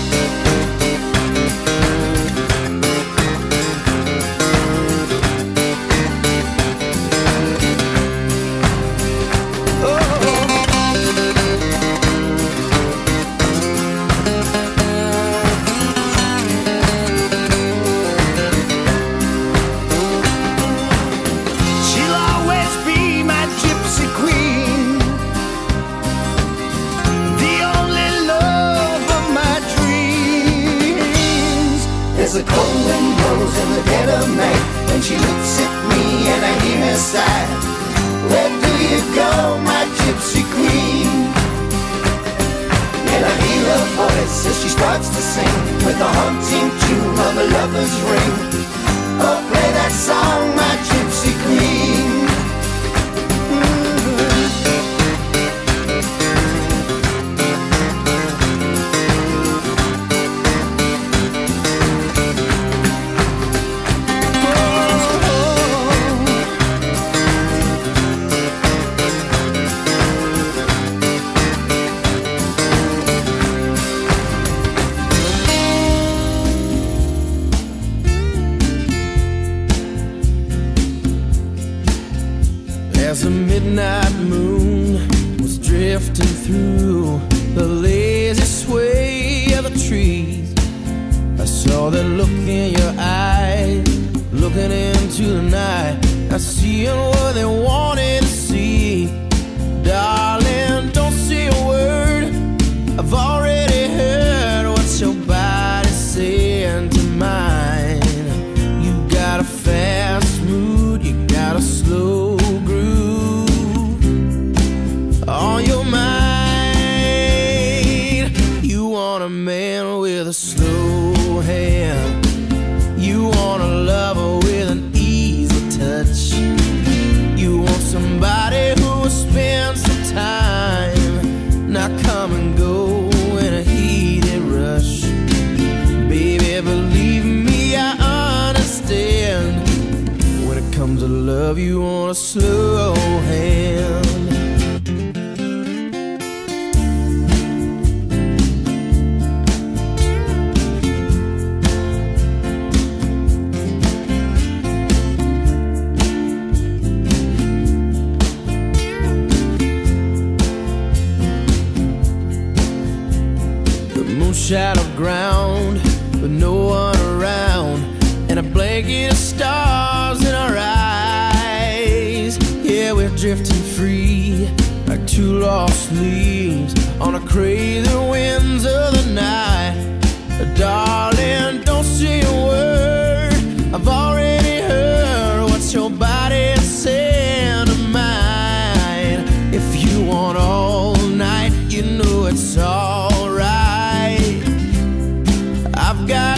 B: She'll always be my gypsy queen, the only love of my dreams. There's a cold wind blows in the dead of night when she looks at me and I hear her sigh. Where do you go, my gypsy queen? And I hear her voice as she starts to sing with a haunting tune of a lover's ring. Oh, play that song, my gypsy queen. As the midnight moon was drifting through the lazy sway of the trees, I saw that look in your eyes, looking into the night. I seeing what they wanted to see. Darling, don't say a word, I've already heard what your body's saying to mine. You got a fast mood, you got a slow groove on your mind. You want a man with a slow hand, you want a lover with an easy touch, you want somebody who will spend some time, not come and go in a heated rush. Baby, believe me, I understand. When it comes to love, you want a slow hand.
P: on shallow ground with no one around, and a blanket of stars in our eyes. Yeah, we're drifting free like two lost leaves on the crazy winds of the night. Darling, don't say a word, I've already heard what your body saying to mine. If you want all night, you know it's alright. I've got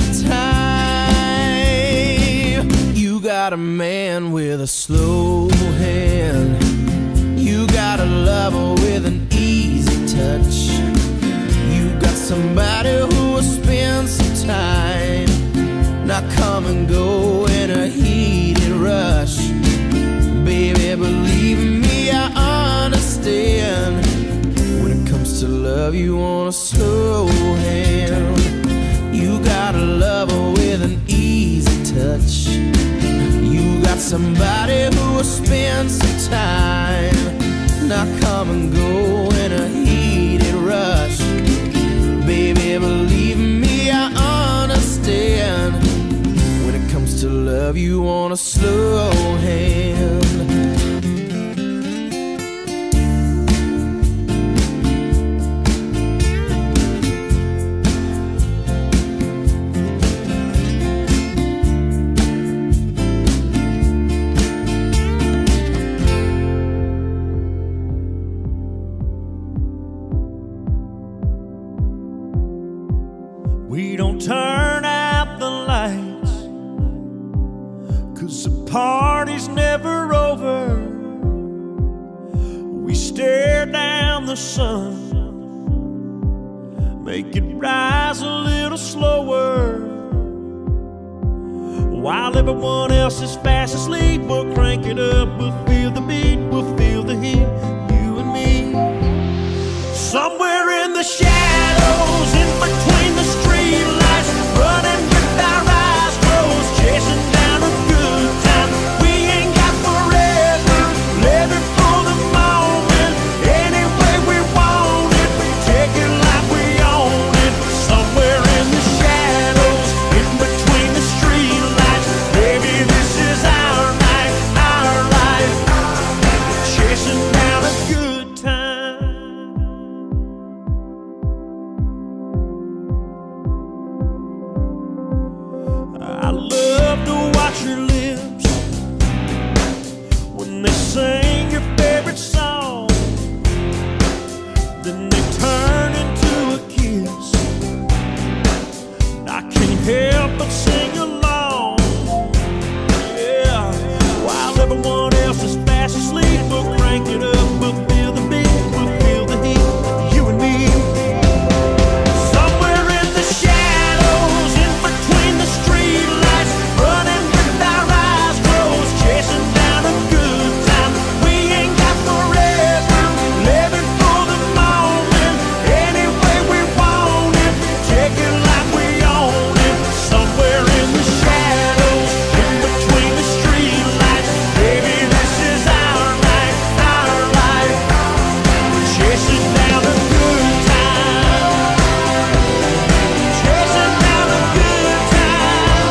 P: time. You got a man with a slow hand, you got a lover with an easy touch, you got somebody who will spend some time, not come and go in a heated rush. Baby, believe me, I understand. When it comes to love, you want a slow hand. You got a lover with an easy touch, you got somebody who will spend some time, not come and go in a heated rush. Baby, believe me, I understand. When it comes to love, you want a slow hand.
M: We don't turn out the lights, 'cause the party's never over. We stare down the sun, make it rise a little slower. While everyone else is fast asleep, we'll crank it up, we'll feel the beat, we'll feel the heat, you and me. Somewhere in the shadows, in between the streetlights, running with our eyes closed, chasing down a good time. We ain't got forever, living for the moment, any way we want it, take it like we own it. Somewhere in the shadows, in between the streetlights, baby, this is our night, our life, chasing down a good time. I love to watch your lips when they sing your favorite song, then they turn into a kiss. I can't help but sing along, yeah. While everyone else is fast asleep, we'll crank it up, we'll feel the beat, we'll feel the heat, you and me. Somewhere in the shadows, in between the streetlights, running with our eyes closed, chasing down a good time. We ain't got forever, living for the moment, any way we want it, take it like we own it. Somewhere in the shadows, in between the streetlights, baby, this is our night, our life, chasing down a good time, chasing down a good time.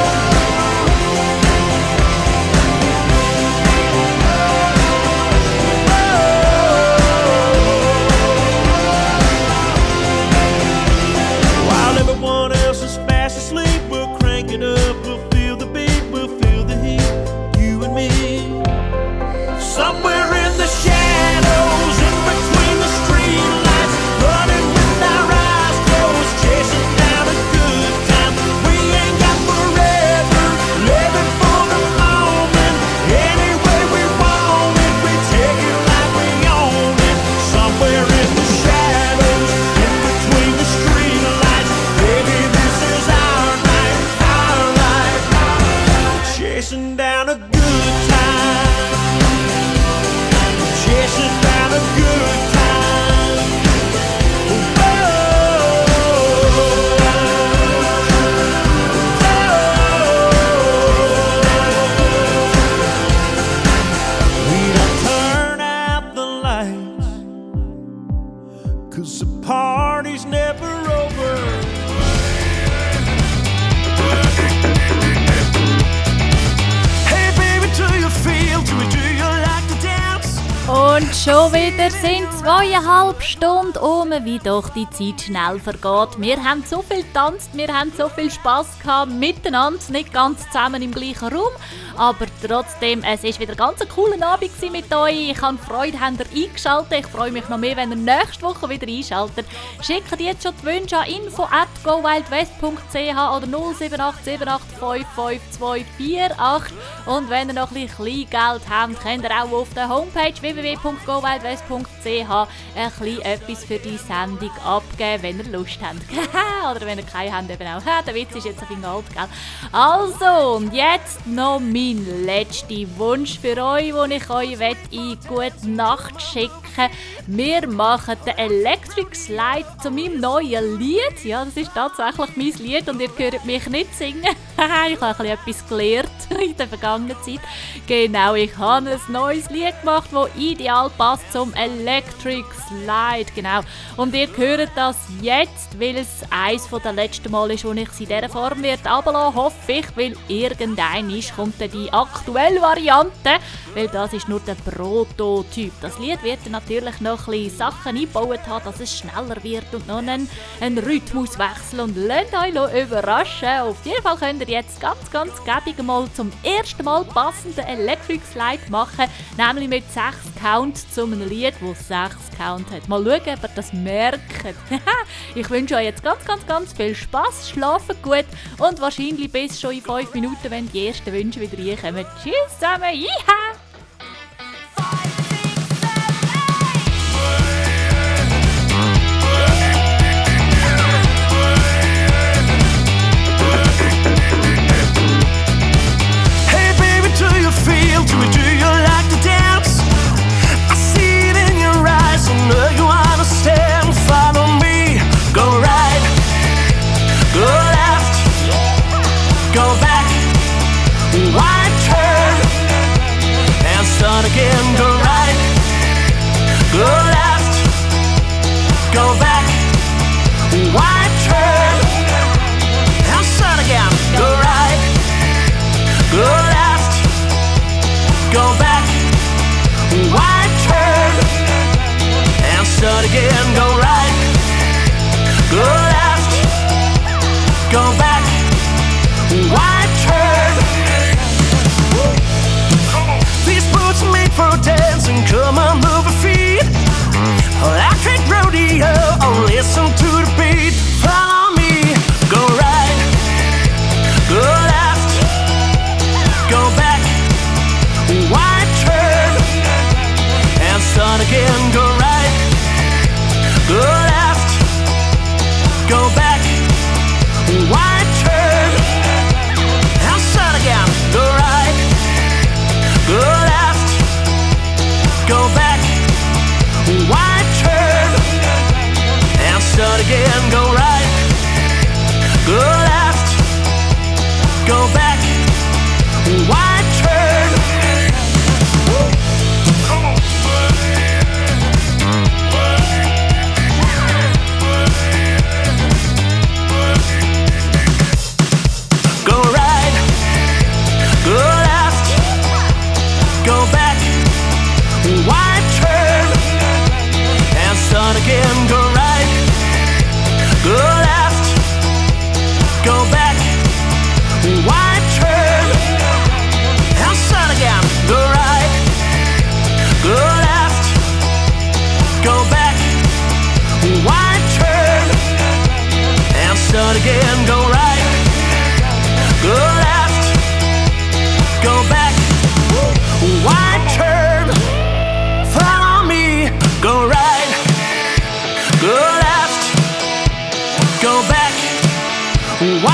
M: While everyone else is fast asleep, we'll crank it up, we'll feel the beat, we'll feel the heat, you and me. Somewhere in the shadows, in between the streetlights, running with our eyes closed, chasing down a good time. We ain't got forever, living for the moment, any way we want it, we take it like we own it. Somewhere in the shadows, in between the streetlights, baby, this is our night, our
A: Und schon wieder sind 2,5 Stunden um, wie doch die Zeit schnell vergeht. Wir haben so viel getanzt, wir haben so viel Spass gehabt miteinander, nicht ganz zusammen im gleichen Raum, aber trotzdem, es war wieder ganz ein cooler Abend mit euch. Ich habe Freude, habt ihr eingeschaltet. Ich freue mich noch mehr, wenn ihr nächste Woche wieder einschaltet. Schickt jetzt schon die Wünsche an info@gowildwest.ch oder 07878552248. Und wenn ihr noch ein bisschen Kleingeld habt, könnt ihr auch auf der Homepage www.gowildwest.ch ein bisschen etwas für die Sendung abgeben, wenn ihr Lust habt. Oder wenn ihr keine habt, eben auch. Der Witz ist jetzt auf den Gold, gell? Also, und jetzt noch mein letzter Wunsch für euch, den ich euch in gute Nacht schicken möchte. Wir machen den Electric Slide zu meinem neuen Lied. Ja, das ist tatsächlich mein Lied und ihr hört mich nicht singen. Ich habe etwas gelernt in der vergangenen Zeit. Genau, ich habe ein neues Lied gemacht, das ideal passt zum Electric Slide. Genau. Und ihr hört das jetzt, weil es eines der letzten Mal ist, wo ich es in dieser Form werde runterlassen, hoffe ich, weil irgendwann kommt dann die aktuelle Variante, weil das ist nur der Prototyp. Das Lied wird dann natürlich noch ein bisschen Sachen eingebaut haben, dass es schneller wird und noch einen Rhythmuswechsel, und lasst euch überraschen. Auf jeden Fall könnt ihr jetzt ganz gäbig mal zum ersten Mal passenden Electric Slide machen, nämlich mit 6 Count zu einem Lied, das 6 Count hat. Mal schauen, ob ihr das merkt. Ich wünsche euch jetzt ganz viel Spass, schlaft gut und wahrscheinlich bis schon in 5 Minuten, wenn die ersten Wünsche wieder reinkommen. Tschüss zusammen, jiha!
P: Do you like to dance? I see it in your eyes, I know you understand. Follow me, go right, go left, go back, wide turn, and start again. Go right, go left, go back, wide turn, and start again. Go right, go left, go back, wide turn, and start again. Go right, go left, go back, wide turn. These boots are made for dancing, come on, move your feet. Electric rodeo, oh, listen to the beat. Follow me, go right, go left, go back, wide turn, and start again. Go right, go left, go back, wide turn, and start again. Go right, go left, go back, wide turn, and start again. Go right, go left, go back, wide turn. Go right, go left, go back, wide turn, and start again. Go right, go left, go back, wide turn, and start again. Go right, go left, go back, wide turn, and start again. Go right, go left, go back, wide turn. Follow me, go right, go left, go back,